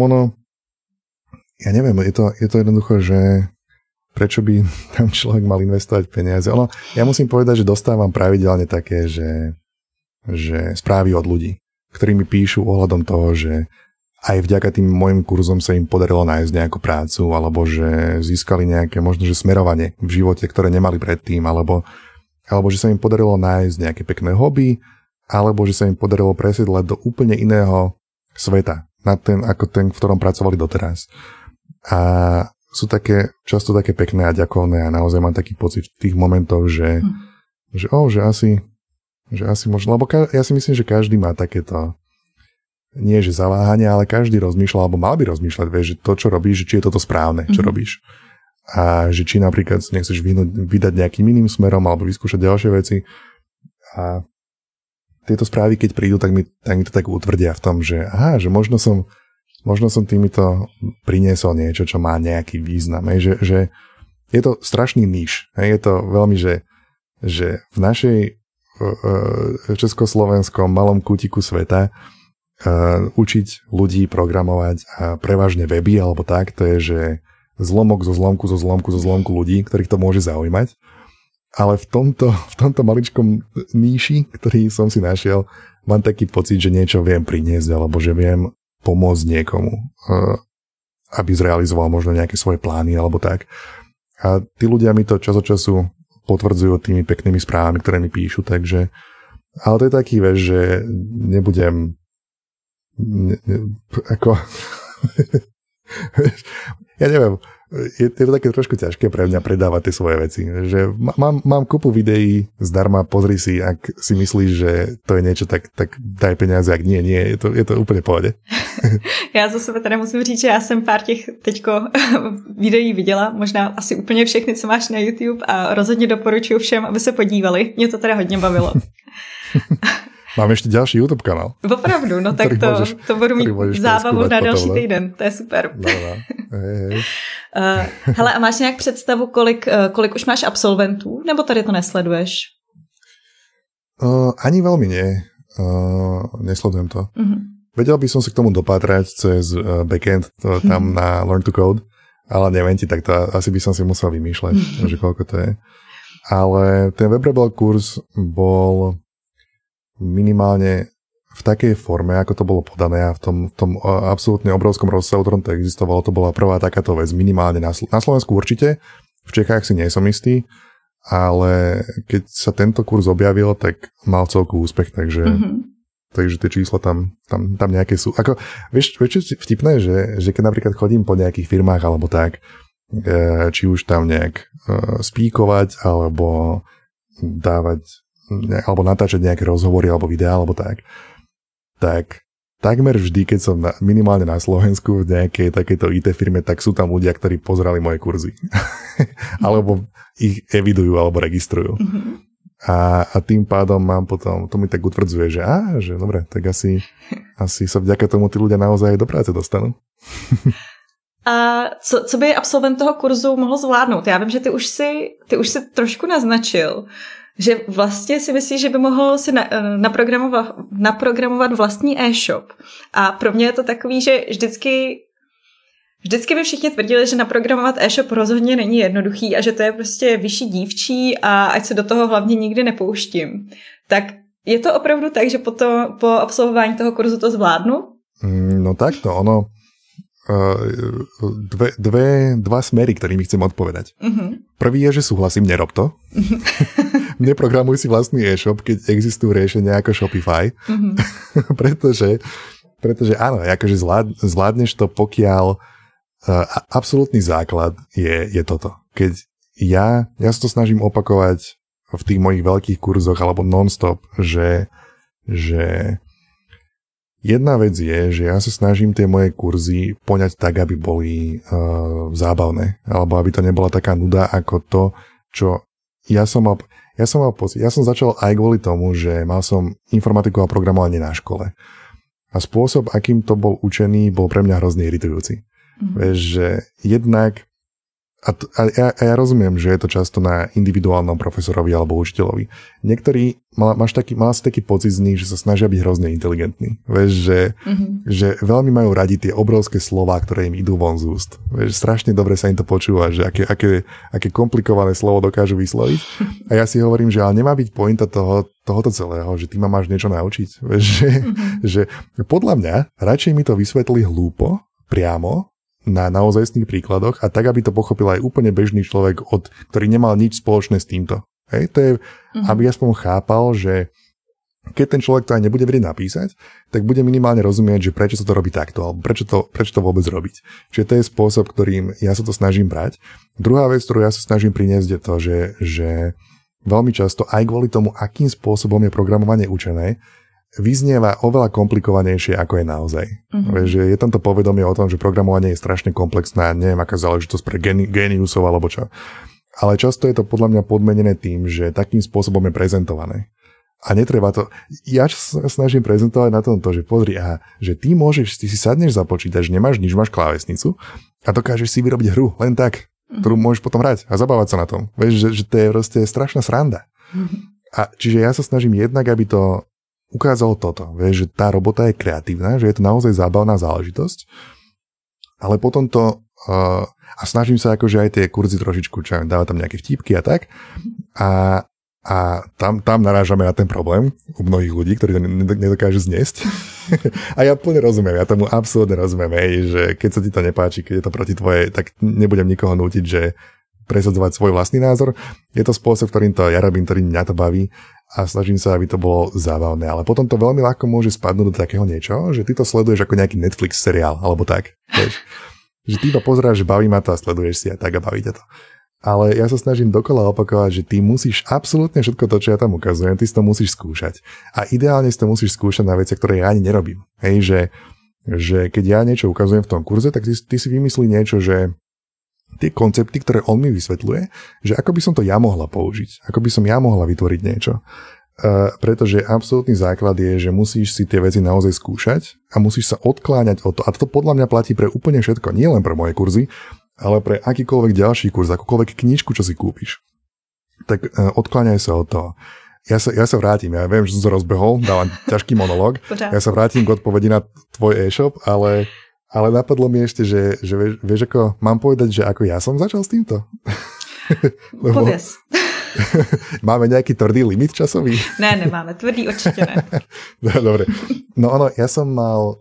Speaker 2: ja neviem, je to jednoducho, že prečo by tam človek mal investovať peniaze. Ja musím povedať, že dostávam pravidelne také, že správy od ľudí, ktorí mi píšu ohľadom toho, že aj vďaka tým môjim kurzom sa im podarilo nájsť nejakú prácu, alebo že získali nejaké možno, že smerovanie v živote, ktoré nemali predtým, alebo že sa im podarilo nájsť nejaké pekné hobby, alebo že sa im podarilo presiedlať do úplne iného sveta, ako ten, v ktorom pracovali doteraz. A sú často také pekné a ďakovné a naozaj mám taký pocit v tých momentoch, že asi možno, lebo ja si myslím, že každý má takéto, nie že zaváhanie, ale každý rozmýšľa, alebo mal by rozmýšľať, vieš, že to, čo robíš, že či je toto správne, čo robíš. A že či napríklad nechceš vydať nejakým iným smerom, alebo vyskúšať ďalšie veci. A tieto správy, keď prídu, tak mi to tak utvrdia v tom, že že možno som týmito priniesol niečo, čo má nejaký význam. Že je to strašný níž. Je to veľmi, že v našej československom malom kútiku sveta učiť ľudí programovať a prevažne weby alebo tak, to je, že zlomok zo zlomku ľudí, ktorých to môže zaujímať. Ale v tomto maličkom níši, ktorý som si našiel, mám taký pocit, že niečo viem priniesť alebo že viem pomôcť niekomu, aby zrealizoval možno nejaké svoje plány alebo tak. A tí ľudia mi to čas od času potvrdzujú tými peknými správami, ktoré mi píšu, takže ale to je taký, vieš, že nebudem ja neviem, je to také trošku ťažké pre mňa predávať tie svoje veci, že mám kopu videí zdarma, pozri si, ak si myslíš, že to je niečo, tak daj peniaze, ak nie, je to úplne v pohode.
Speaker 1: Já za sebe teda musím říct, že já jsem pár těch teďko videí viděla, možná asi úplně všechny, co máš na YouTube a rozhodně doporučuji všem, aby se podívali. Mě to teda hodně bavilo.
Speaker 2: Mám ešte ďalší YouTube kanál.
Speaker 1: Opravdu, no tak to budu mít zábavu na další týden. To je super.
Speaker 2: No. Hej.
Speaker 1: Hele, a máš nějak představu, kolik už máš absolventů? Nebo tady to nesleduješ?
Speaker 2: Ani veľmi nie. Nesledujem to. Vedel by som sa k tomu dopátrať cez backend tam na Learn to Code, ale neviem ti, tak to asi by som si musel vymýšľať, že koľko to je. Ale ten WebRebel kurz bol minimálne v takej forme, ako to bolo podané a v tom absolútne obrovskom rozsahu, ktorom to existovalo, to bola prvá takáto vec, minimálne na Slovensku určite, v Čechách si nie som istý, ale keď sa tento kurz objavil, tak mal celkový úspech, takže tie čísla tam nejaké sú. Ako, vieš, čo vtipné, že keď napríklad chodím po nejakých firmách alebo tak, či už tam nejak spíkovať alebo dávať alebo natáčať nejaké rozhovory alebo videá alebo tak takmer vždy, keď som minimálne na Slovensku v nejakej takejto IT firme, tak sú tam ľudia, ktorí pozerali moje kurzy. Alebo ich evidujú, alebo registrujú. A tým pádom mám potom, to mi tak utvrdzuje, že dobre, tak asi sa vďaka tomu tí ľudia naozaj do práce dostanú.
Speaker 1: A co by absolvent toho kurzu mohl zvládnout? Já vím, že ty už si trošku naznačil, že vlastně si myslíš, že by mohl si naprogramovat vlastní e-shop. A pro mě je to takový, že vždycky by všichni tvrdili, že naprogramovat e-shop rozhodně není jednoduchý a že to je prostě vyšší dívčí a ať se do toho hlavně nikdy nepouštím. Tak je to opravdu tak, že po absolvování toho kurzu to zvládnu?
Speaker 2: No takto, ono dva smery, ktorými chcem odpovedať. Prvý je, že súhlasím, nerob to. Neprogramuj si vlastný e-shop, keď existujú riešenia ako Shopify. pretože áno, akože zvládneš to, pokiaľ absolútny základ je toto. Keď ja sa to snažím opakovať v tých mojich veľkých kurzoch alebo non-stop, že jedna vec je, že ja sa snažím tie moje kurzy poňať tak, aby boli zábavné, alebo aby to nebola taká nuda ako to, čo ja som mal pocit. Ja som začal aj kvôli tomu, že mal som informatiku a programovanie na škole. A spôsob, akým to bol učený, bol pre mňa hrozne iritujúci. Vieš, že jednak a ja rozumiem, že je to často na individuálnom profesorovi alebo učiteľovi. Niektorí mal si taký pocit z nich, že sa snažia byť hrozne inteligentní. Vieš, že veľmi majú radi tie obrovské slová, ktoré im idú von z úst. Vieš, strašne dobre sa im to počúva, že aké komplikované slovo dokážu vysloviť. A ja si hovorím, že ale nemá byť pointa tohoto celého, že ty ma máš niečo naučiť. Vieš, že podľa mňa radšej mi to vysvetlí hlúpo, priamo, na naozajstných príkladoch a tak, aby to pochopil aj úplne bežný človek, ktorý nemal nič spoločné s týmto. Hej, to je, aby aspoň chápal, že keď ten človek to aj nebude vedieť napísať, tak bude minimálne rozumieť, že prečo sa to robí takto, alebo prečo to vôbec robiť. Čiže to je spôsob, ktorým ja sa to snažím brať. Druhá vec, ktorú ja sa snažím priniesť, je to, že veľmi často aj kvôli tomu, akým spôsobom je programovanie učené, vyznieva oveľa komplikovanejšie, ako je naozaj. Že je tam to povedomie o tom, že programovanie je strašne komplexná, neviem, aká záležitosť pre géniusov alebo čo. Ale často je to podľa mňa podmenené tým, že takým spôsobom je prezentované. A netreba to. Ja sa snažím prezentovať na tomto, že pozri, že ty si sadneš za počítač, nemáš nič, máš klávesnicu a dokážeš si vyrobiť hru len tak, ktorú môžeš potom hrať a zabávať sa na tom. Vieš, že to je proste strašná sranda. A čiže ja sa snažím jednak, aby to ukázalo toto, vieš, že tá robota je kreatívna, že je to naozaj zábavná záležitosť, ale potom to a snažím sa akože aj tie kurzy trošičku, dávať tam nejaké vtípky a tak a tam narážame na ten problém u mnohých ľudí, ktorí to nedokážu zniesť. A ja plne rozumiem, ja tomu absolútne rozumiem, že keď sa ti to nepáči, keď je to proti tvojej, tak nebudem nikoho nútiť, že presadzovať svoj vlastný názor. Je to spôsob, ktorým to ja robím, ktorý mňa to baví a snažím sa, aby to bolo zábavné. Ale potom to veľmi ľahko môže spadnúť do takého niečo, že ty to sleduješ ako nejaký Netflix seriál, alebo tak. Vieš? Že ty iba pozeráš, že baví ma to a sleduješ si a tak a baví ťa to. Ale ja sa snažím dokola opakovať, že ty musíš absolútne všetko to, čo ja tam ukazujem, ty si to musíš skúšať. A ideálne si to musíš skúšať na veciach, ktoré ja ani nerobím. Hej, že keď ja niečo ukazujem v tom kurze, tak ty si vymyslí niečo, že tie koncepty, ktoré on mi vysvetľuje, že ako by som to ja mohla použiť, ako by som ja mohla vytvoriť niečo. Pretože absolútny základ je, že musíš si tie veci naozaj skúšať a musíš sa odkláňať od toho. A to podľa mňa platí pre úplne všetko, nie len pre moje kurzy, ale pre akýkoľvek ďalší kurz, akúkoľvek knižku, čo si kúpiš. Tak odkláňaj sa od toho. Ja sa vrátim, ja viem, že som sa rozbehol, dávam ťažký monológ. Ja sa vrátim k odpovedi na tvoj e-shop, ale napadlo mi ešte, že vieš ako, mám povedať, že ako ja som začal s týmto?
Speaker 1: Pověz.
Speaker 2: Máme nejaký tvrdý limit časový?
Speaker 1: Ne, nemáme, tvrdý určite ne.
Speaker 2: Dobre. No ja som mal,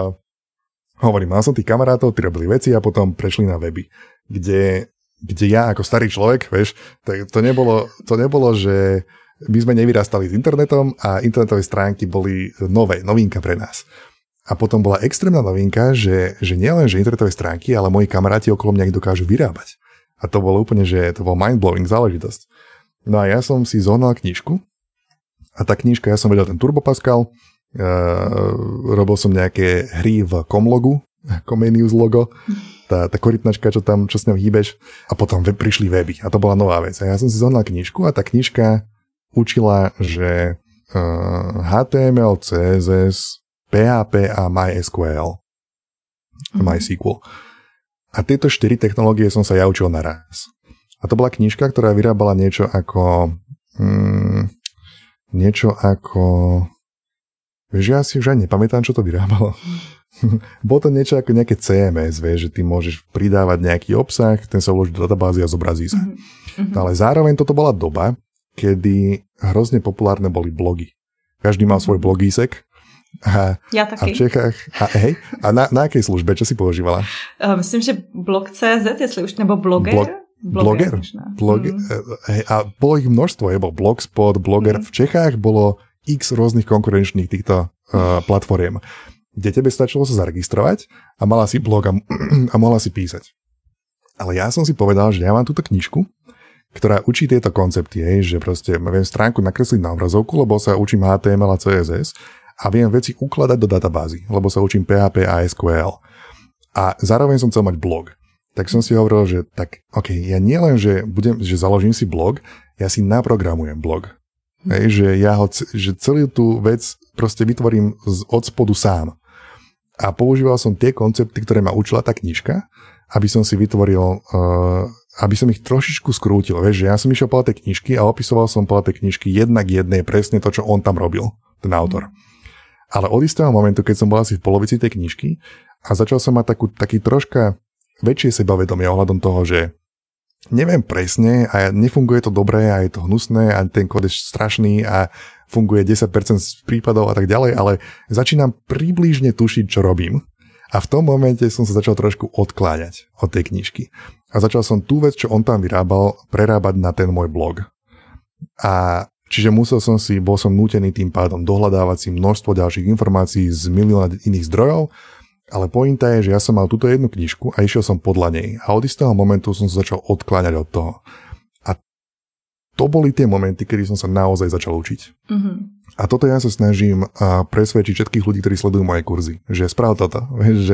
Speaker 2: mal som tých kamarátov, tí robili veci a potom prešli na weby, kde ja ako starý človek, vieš, tak to nebolo, že my sme nevyrastali s internetom a internetové stránky boli novinka pre nás. A potom bola extrémna novinka, že nielen, že internetové stránky, ale moji kamaráti okolo mňa ich dokážu vyrábať. A to bolo úplne, že to bol mind-blowing záležitosť. No a ja som si zohnal knižku a tá knižka, ja som vedel ten Turbo Pascal, robil som nejaké hry v Comlogu, Comenius logo, tá korytnačka, čo s ňou hýbeš, a potom prišli weby a to bola nová vec. A ja som si zohnal knižku a tá knižka učila, že HTML, CSS, PHP a MySQL. MySQL. A tieto 4 technológie som sa ja učil naraz. A to bola knižka, ktorá vyrábala niečo ako vieš, ja si už aj nepamätám, čo to vyrábalo. Bolo to niečo ako nejaké CMS, vieš, že ty môžeš pridávať nejaký obsah, ten sa uloží do databázy a zobrazí sa. Ale zároveň toto bola doba, kedy hrozne populárne boli blogy. Každý mal svoj blogísek.
Speaker 1: Ja taky.
Speaker 2: A v Čechách... A na akej službe? Čo si používala?
Speaker 1: Myslím, že blog.cz, jestli už, nebo Blogger.
Speaker 2: Blogger? A bolo ich množstvo. Bol Blogspot, Blogger. V Čechách bolo x rôznych konkurenčných týchto platform, kde tebe stačilo sa zaregistrovať a mala si blog a mohla si písať. Ale ja som si povedal, že ja mám túto knižku, ktorá učí tieto koncepty, že proste viem stránku nakresliť na obrazovku, lebo sa učím HTML a CSS a viem veci ukladať do databázy, lebo sa učím PHP a SQL. A zároveň som chcel mať blog. Tak som si hovoril, že tak, ja nie len, že založím si blog, ja si naprogramujem blog. Že že celú tú vec proste vytvorím od spodu sám. A používal som tie koncepty, ktoré ma učila tá knižka, aby som si vytvoril, aby som ich trošičku skrútil. Vieš, že ja som išiel podľa tej knižky a opisoval som podľa tej knižky jedna k jednej presne to, čo on tam robil, ten autor. Ale od istého momentu, keď som bol asi v polovici tej knižky a začal som mať taký troška väčšie sebavedomie ohľadom toho, že neviem presne a nefunguje to dobre a je to hnusné a ten kód je strašný a funguje 10% z prípadov a tak ďalej, ale začínam približne tušiť, čo robím. A v tom momente som sa začal trošku odkláňať od tej knižky. A začal som tú vec, čo on tam vyrábal, prerábať na ten môj blog. A čiže bol som nútený tým pádom dohľadávať si množstvo ďalších informácií z milióna iných zdrojov, ale pointa je, že ja som mal túto jednu knižku a išiel som podľa nej. A od istého momentu som sa začal odkláňať od toho. A to boli tie momenty, kedy som sa naozaj začal učiť. Mm-hmm. A toto ja sa snažím presvedčiť všetkých ľudí, ktorí sledujú moje kurzy. Že sprav toto.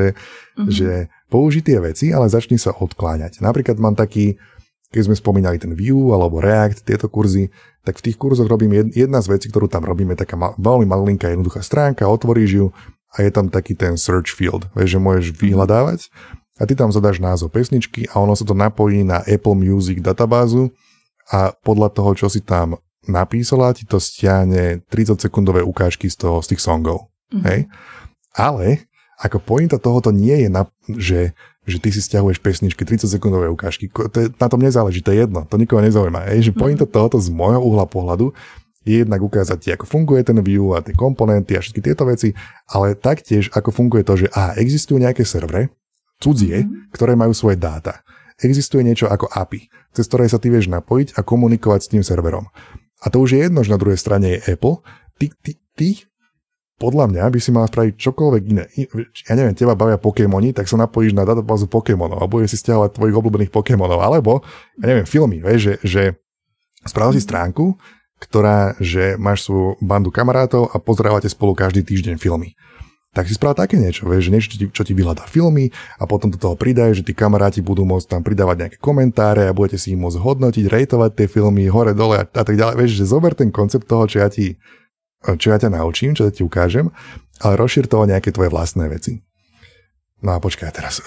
Speaker 2: Že použij tie veci, ale začni sa odkláňať. Napríklad mám taký, keď sme spomínali ten Vue alebo React, tieto kurzy, tak v tých kurzoch robím jedna z vecí, ktorú tam robíme, taká veľmi malinká jednoduchá stránka, otvoríš ju a je tam taký ten search field, vieš, že môžeš vyhľadávať a ty tam zadáš názov pesničky a ono sa to napojí na Apple Music databázu a podľa toho, čo si tam napísala, ti to stiahne 30-sekundové ukážky z tých songov. Hej? Ale ako pointa tohoto nie je, že ty si stiahuješ pesničky, 30-sekundové ukážky. Na tom nezáleží, to je jedno, to nikoho nezaujíma. Že pointa tohoto z môjho uhla pohľadu je jednak ukázať ti, ako funguje ten Vue a tie komponenty a všetky tieto veci, ale taktiež, ako funguje to, že existujú nejaké servery, cudzie, ktoré majú svoje dáta. Existuje niečo ako API, cez ktoré sa ty vieš napojiť a komunikovať s tým serverom. A to už je jedno, že na druhej strane je Apple. Ty podľa mňa by si mal spraviť čokoľvek iné. Ja neviem, teba bavia Pokémoni, tak sa napojíš na databázu Pokémonov a budeš si stiahovať tvojich obľúbených Pokémonov. Alebo, ja neviem, filmy, vieš, že spravil si stránku, ktorá, že máš svoju bandu kamarátov a pozerávate spolu každý týždeň filmy. Tak si spravil také niečo, vieš, že niečo, čo ti vyhľadá filmy a potom do toho pridaj, že tí kamaráti budú môcť tam pridávať nejaké komentáre a budete si ich môcť hodnotiť, rejtovať tie filmy hore, dole a tak ďalej. Vieš, že zober ten koncept toho, čo ja ťa naučím, čo ja ti ukážem, ale rozšír to o nejaké tvoje vlastné veci. No a počkaj teraz.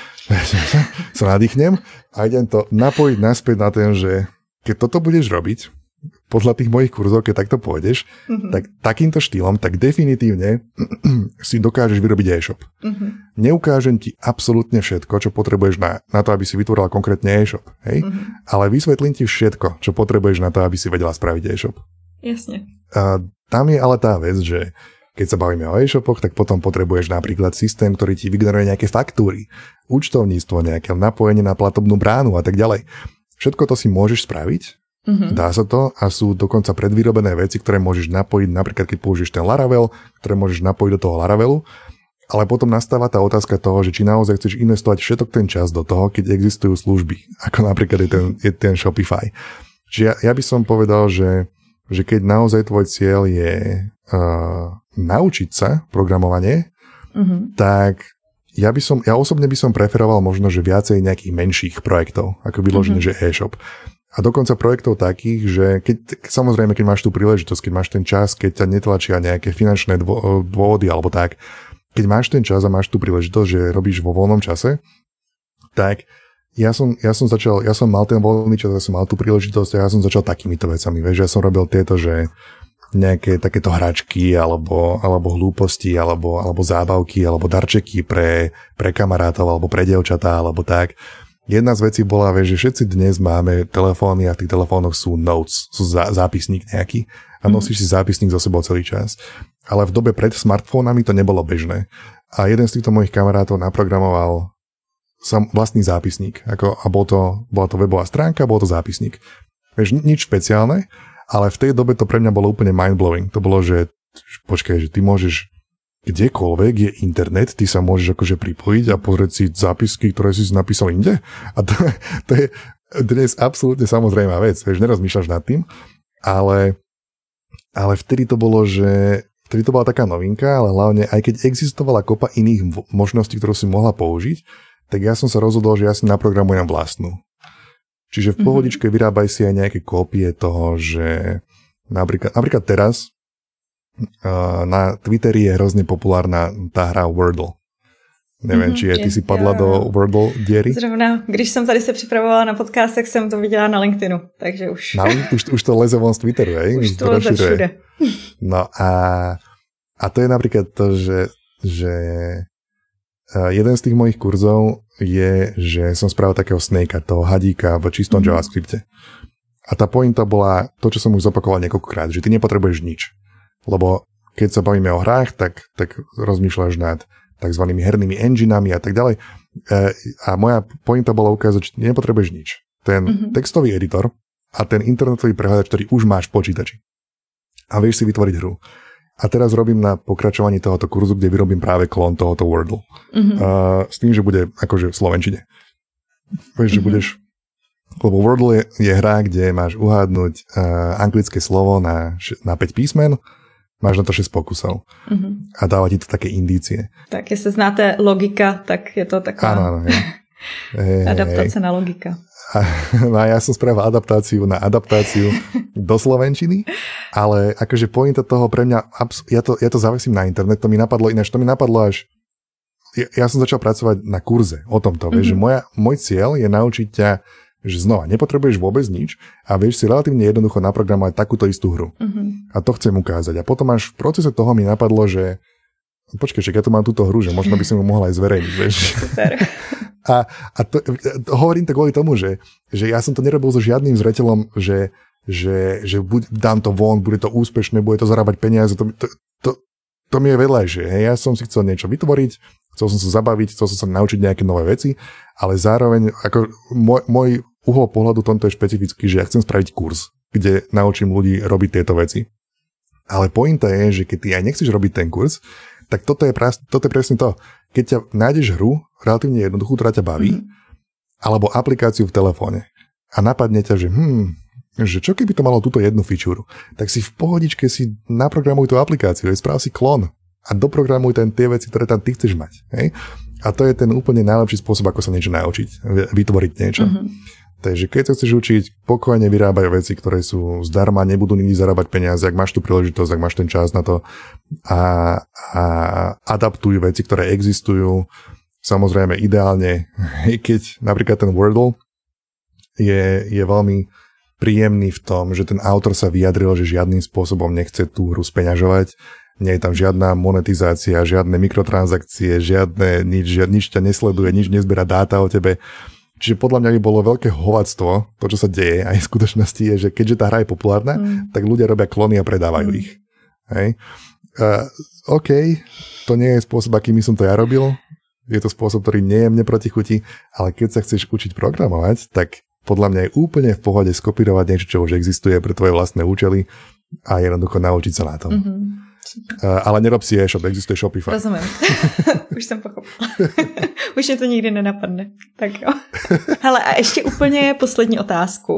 Speaker 2: Sa nadýchnem a idem to napojiť naspäť na ten, že keď toto budeš robiť, podľa tých mojich kurzov, keď takto pôjdeš, tak takýmto štýlom, tak definitívne si dokážeš vyrobiť e-shop. Neukážem ti absolútne všetko, čo potrebuješ na to, aby si vytvorila konkrétne e-shop. Hej? Ale vysvetlím ti všetko, čo potrebuješ na to, aby si vedela spraviť e-shop.
Speaker 1: Jasne.
Speaker 2: A tam je ale tá vec, že keď sa bavíme o e-shopoch, tak potom potrebuješ napríklad systém, ktorý ti vygeneruje nejaké faktúry, účtovníctvo, nejaké napojenie na platobnú bránu a tak ďalej. Všetko to si môžeš spraviť. Dá sa to a sú dokonca predvyrobené veci, ktoré môžeš napojiť, napríklad keď použiješ ten Laravel, ktoré môžeš napojiť do toho Laravelu, ale potom nastáva tá otázka toho, že či naozaj chceš investovať všetok ten čas do toho, keď existujú služby, ako napríklad je ten Shopify. Čiže ja by som povedal, že keď naozaj tvoj cieľ je naučiť sa programovanie, tak ja osobne by som preferoval možno, že viacej nejakých menších projektov, ako vyložené, že e-shop. A dokonca projektov takých, že samozrejme, keď máš tú príležitosť, keď máš ten čas, keď ťa netlačia nejaké finančné dôvody alebo tak, keď máš ten čas a máš tú príležitosť, že robíš vo voľnom čase, tak ja som mal ten voľný čas, ja som mal tú príležitosť a ja som začal takýmito vecami. Vieš, ja som robil tieto, že nejaké takéto hračky alebo hlúposti alebo zábavky alebo darčeky pre kamarátov alebo pre dievčatá alebo tak. Jedna z vecí bola, že všetci dnes máme telefóny a v tých telefónoch sú notes, sú zápisník nejaký a nosíš si zápisník so sebou celý čas. Ale v dobe pred smartfónami to nebolo bežné. A jeden z týchto mojich kamarátov naprogramoval vlastný zápisník. A bola to webová stránka, bol to zápisník. Vieš, nič špeciálne, ale v tej dobe to pre mňa bolo úplne mind-blowing. To bolo, že počkaj, že ty môžeš kdekoľvek je internet, ty sa môžeš akože pripojiť a pozrieť si zápisky, ktoré si napísal inde. A to je dnes absolútne samozrejmá vec. Vieš, nerozmýšľaš nad tým, ale vtedy to bolo, že vtedy to bola taká novinka, ale hlavne aj keď existovala kopa iných možností, ktorú si mohla použiť, tak ja som sa rozhodol, že ja si naprogramujem vlastnú. Čiže v pohodičke vyrábaj si aj nejaké kópie toho, že napríklad teraz na Twitteri je hrozne populárna tá hra Wordle. Neviem, či ty si padla do Wordle diery?
Speaker 1: Zrovna, když jsem tady se připravovala na podcast, tak jsem to viděla na LinkedInu, takže už...
Speaker 2: Už to leze von z Twitteru, hej?
Speaker 1: Už to leze všude.
Speaker 2: No a to je napríklad to, že jeden z tých mojich kurzov je, že som spravil takého snakea, toho hadíka v čistom JavaScripte. A tá pointa bola to, čo som už zopakoval niekoľkokrát, že ty nepotrebuješ nič. Lebo keď sa bavíme o hrách, tak rozmýšľaš nad takzvanými hernými enginami a tak ďalej. A moja pointa bola ukázať, že nepotrebuješ nič. Ten textový editor a ten internetový prehľadač, ktorý už máš v počítači. A vieš si vytvoriť hru. A teraz robím na pokračovaní tohoto kurzu, kde vyrobím práve klon tohoto Wordle. S tým, že bude akože v slovenčine. Vieš, že budeš... Lebo Wordle je hra, kde máš uhádnuť anglické slovo na 5 písmen, máš na to 6 pokusov. A dáva ti to také indície. Tak,
Speaker 1: jestli znáte logika, tak je to taková
Speaker 2: áno,
Speaker 1: adaptácia na logika.
Speaker 2: A ja som spravil adaptáciu na adaptáciu do slovenčiny, ale akože pointa toho pre mňa, ja to zavesím na internet, to mi napadlo až, ja som začal pracovať na kurze o tomto, vieš, že môj cieľ je naučiť ťa, že znova, nepotrebuješ vôbec nič a vieš si relatívne jednoducho naprogramovať takúto istú hru. A to chcem ukázať. A potom až v procese toho mi napadlo, že počkej, ja tu mám túto hru, že možno by som ju mohla aj zverejniť, vieš. Super. A to, hovorím to kvôli tomu, že ja som to nerobil so žiadnym zreteľom, že dám to von, bude to úspešné, bude to zarábať peniaze, to mi je vedľajšie. Ja som si chcel niečo vytvoriť, chcel som sa zabaviť, chcel som sa naučiť nejaké nové veci, ale zároveň ako môj uhol pohľadu tomto je špecifický, že ja chcem spraviť kurz, kde naučím ľudí robiť tieto veci. Ale pointa je, že keď ty aj nechceš robiť ten kurz, tak toto je presne to. Keď ťa nájdeš hru, relatívne jednoduchú, ktorá ťa baví, alebo aplikáciu v telefóne a napadne ťa, že čo keby to malo túto jednu fičúru, tak si v pohodičke si naprogramuj tú aplikáciu, správ si klon a doprogramuj tie veci, ktoré tam ty chceš mať. Hej? A to je ten úplne najlepší spôsob, ako sa niečo naučiť, vytvoriť niečo. Takže keď sa chceš učiť, pokojne vyrábaj veci, ktoré sú zdarma, nebudú nikdy zarábať peniaze, ak máš tú príležitosť, ak máš ten čas na to a adaptuj veci, ktoré existujú. Samozrejme, ideálne, keď napríklad ten Wordle je veľmi príjemný v tom, že ten autor sa vyjadril, že žiadnym spôsobom nechce tú hru speňažovať. Nie je tam žiadna monetizácia, žiadne mikrotransakcie, nič ťa nesleduje, nič nezbiera dáta o tebe. Čiže podľa mňa by bolo veľké hovadstvo, to, čo sa deje aj v skutočnosti, je, že keďže tá hra je populárna, tak ľudia robia klony a predávajú ich. Hej. OK, to nie je spôsob, akým som to ja robil. Je to spôsob, ktorý nie je mne protichutí, ale keď sa chceš učiť programovať, tak podľa mňa je úplne v pohode skopírovať niečo, čo už existuje pre tvoje vlastné účely a jednoducho naučiť sa na tom. Ale nerob si e-shop, existuje Shopify.
Speaker 1: Rozumím. Už jsem pochopila. Už mě to nikdy nenapadne. Tak jo. Hele, a ještě úplně poslední otázku.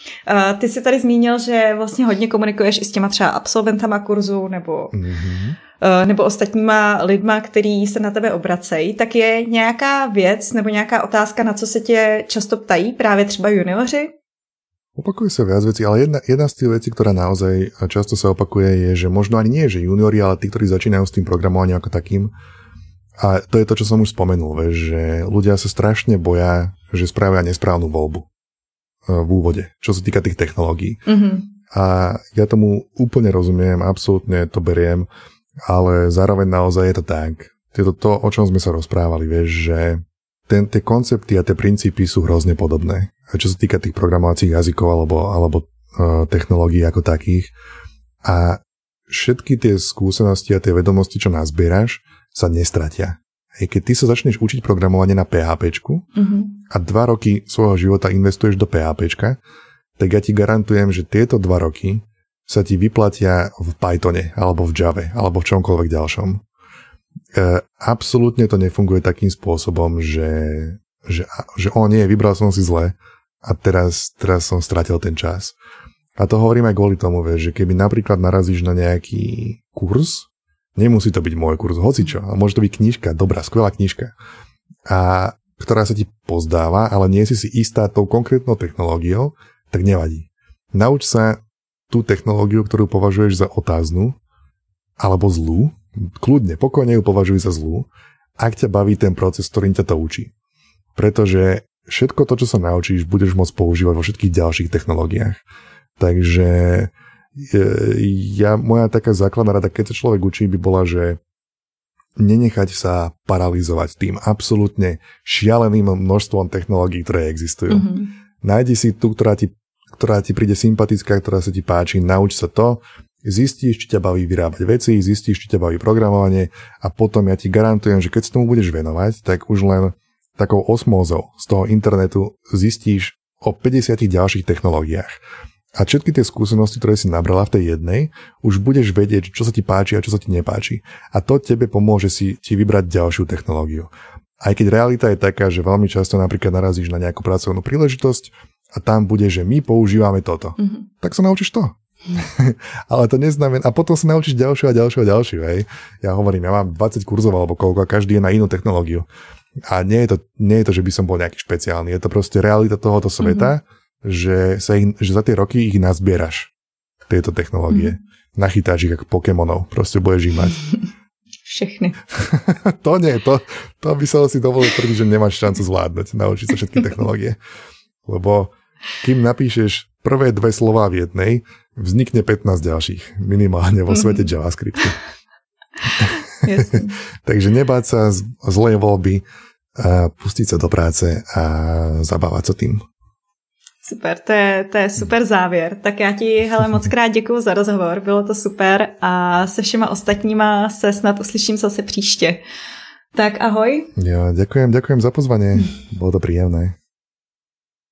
Speaker 1: Ty jsi tady zmínil, že vlastně hodně komunikuješ i s těma třeba absolventama kurzu nebo ostatníma lidma, který se na tebe obracejí. Tak je nějaká věc nebo nějaká otázka, na co se tě často ptají právě třeba junioři?
Speaker 2: Opakuje sa viac vecí, ale jedna z tých vecí, ktorá naozaj často sa opakuje, je, že možno ani nie, že juniori, ale tí, ktorí začínajú s tým programovaním ako takým. A to je to, čo som už spomenul, že ľudia sa strašne boja, že spravia nesprávnu voľbu v úvode, čo sa týka tých technológií. A ja tomu úplne rozumiem, absolútne to beriem, ale zároveň naozaj je to tak. Je to, o čom sme sa rozprávali, vieš, že tie koncepty a tie princípy sú hrozne podobné. Čo sa týka tých programovacích jazykov alebo technológií ako takých. A všetky tie skúsenosti a tie vedomosti, čo nazbieraš, sa nestratia. Keď ty sa začneš učiť programovanie na PHPčku a 2 roky svojho života investuješ do PHPčka, tak ja ti garantujem, že tieto 2 roky sa ti vyplatia v Pythone, alebo v Jave, alebo v čomkoľvek ďalšom. Absolútne to nefunguje takým spôsobom, že nie, vybral som si zle a teraz som stratil ten čas. A to hovorím aj kvôli tomu, že keby napríklad narazíš na nejaký kurz, nemusí to byť môj kurz, hocičo, a môže to byť knižka, dobrá, skvelá knižka, a ktorá sa ti pozdáva, ale nie si istá tou konkrétnou technológiou, tak nevadí. Nauč sa tú technológiu, ktorú považuješ za otáznu alebo zlú, kľudne, pokojne ju považuj za zlú, ak ťa baví ten proces, ktorým ťa to učí. Pretože všetko to, čo sa naučíš, budeš môcť používať vo všetkých ďalších technológiách. Takže moja taká základná rada, keď sa človek učí, by bola, že nenechať sa paralizovať tým absolútne šialeným množstvom technológií, ktoré existujú. Nájdi si tú, ktorá ti príde sympatická, ktorá sa ti páči, nauč sa to, zistíš, či ťa baví vyrábať veci, zistíš, či ťa baví programovanie a potom ja ti garantujem, že keď sa tomu budeš venovať, tak už len takou osmózou z toho internetu zistíš o 50 ďalších technológiách. A všetky tie skúsenosti, ktoré si nabrala v tej jednej, už budeš vedieť, čo sa ti páči a čo sa ti nepáči. A to tebe pomôže ti vybrať ďalšiu technológiu. Aj keď realita je taká, že veľmi často napríklad narazíš na nejakú pracovnú príležitosť a tam bude, že my používame toto. Tak sa naučíš to. Ale to neznamená, a potom sa naučíš ďalšiu a ďalšiu, hej. Ja hovorím, ja mám 20 kurzov alebo koľko a každý je na inú technológiu. A nie je to, že by som bol nejaký špeciálny. Je to proste realita tohoto sveta, že za tie roky ich nazbieraš, tieto technológie. Nachytáš ich ako Pokémonov. Proste budeš ich mať.
Speaker 1: Všechny.
Speaker 2: To nie, to by som si dovolil tvrdiť, že nemáš šancu zvládnuť, naučiť sa všetky technológie. Lebo kým napíšeš prvé 2 slová v jednej, vznikne 15 ďalších. Minimálne vo svete JavaScriptu. Takže nebáť sa zlej voľby, pustiť sa do práce a zabávať sa tým.
Speaker 1: Super, to je super závěr. Tak já ti, hele, moc krát děkuju za rozhovor, bylo to super a se všema ostatníma se snad uslyším zase příště. Tak ahoj.
Speaker 2: Ja, ďakujem za pozvanie, bolo to príjemné.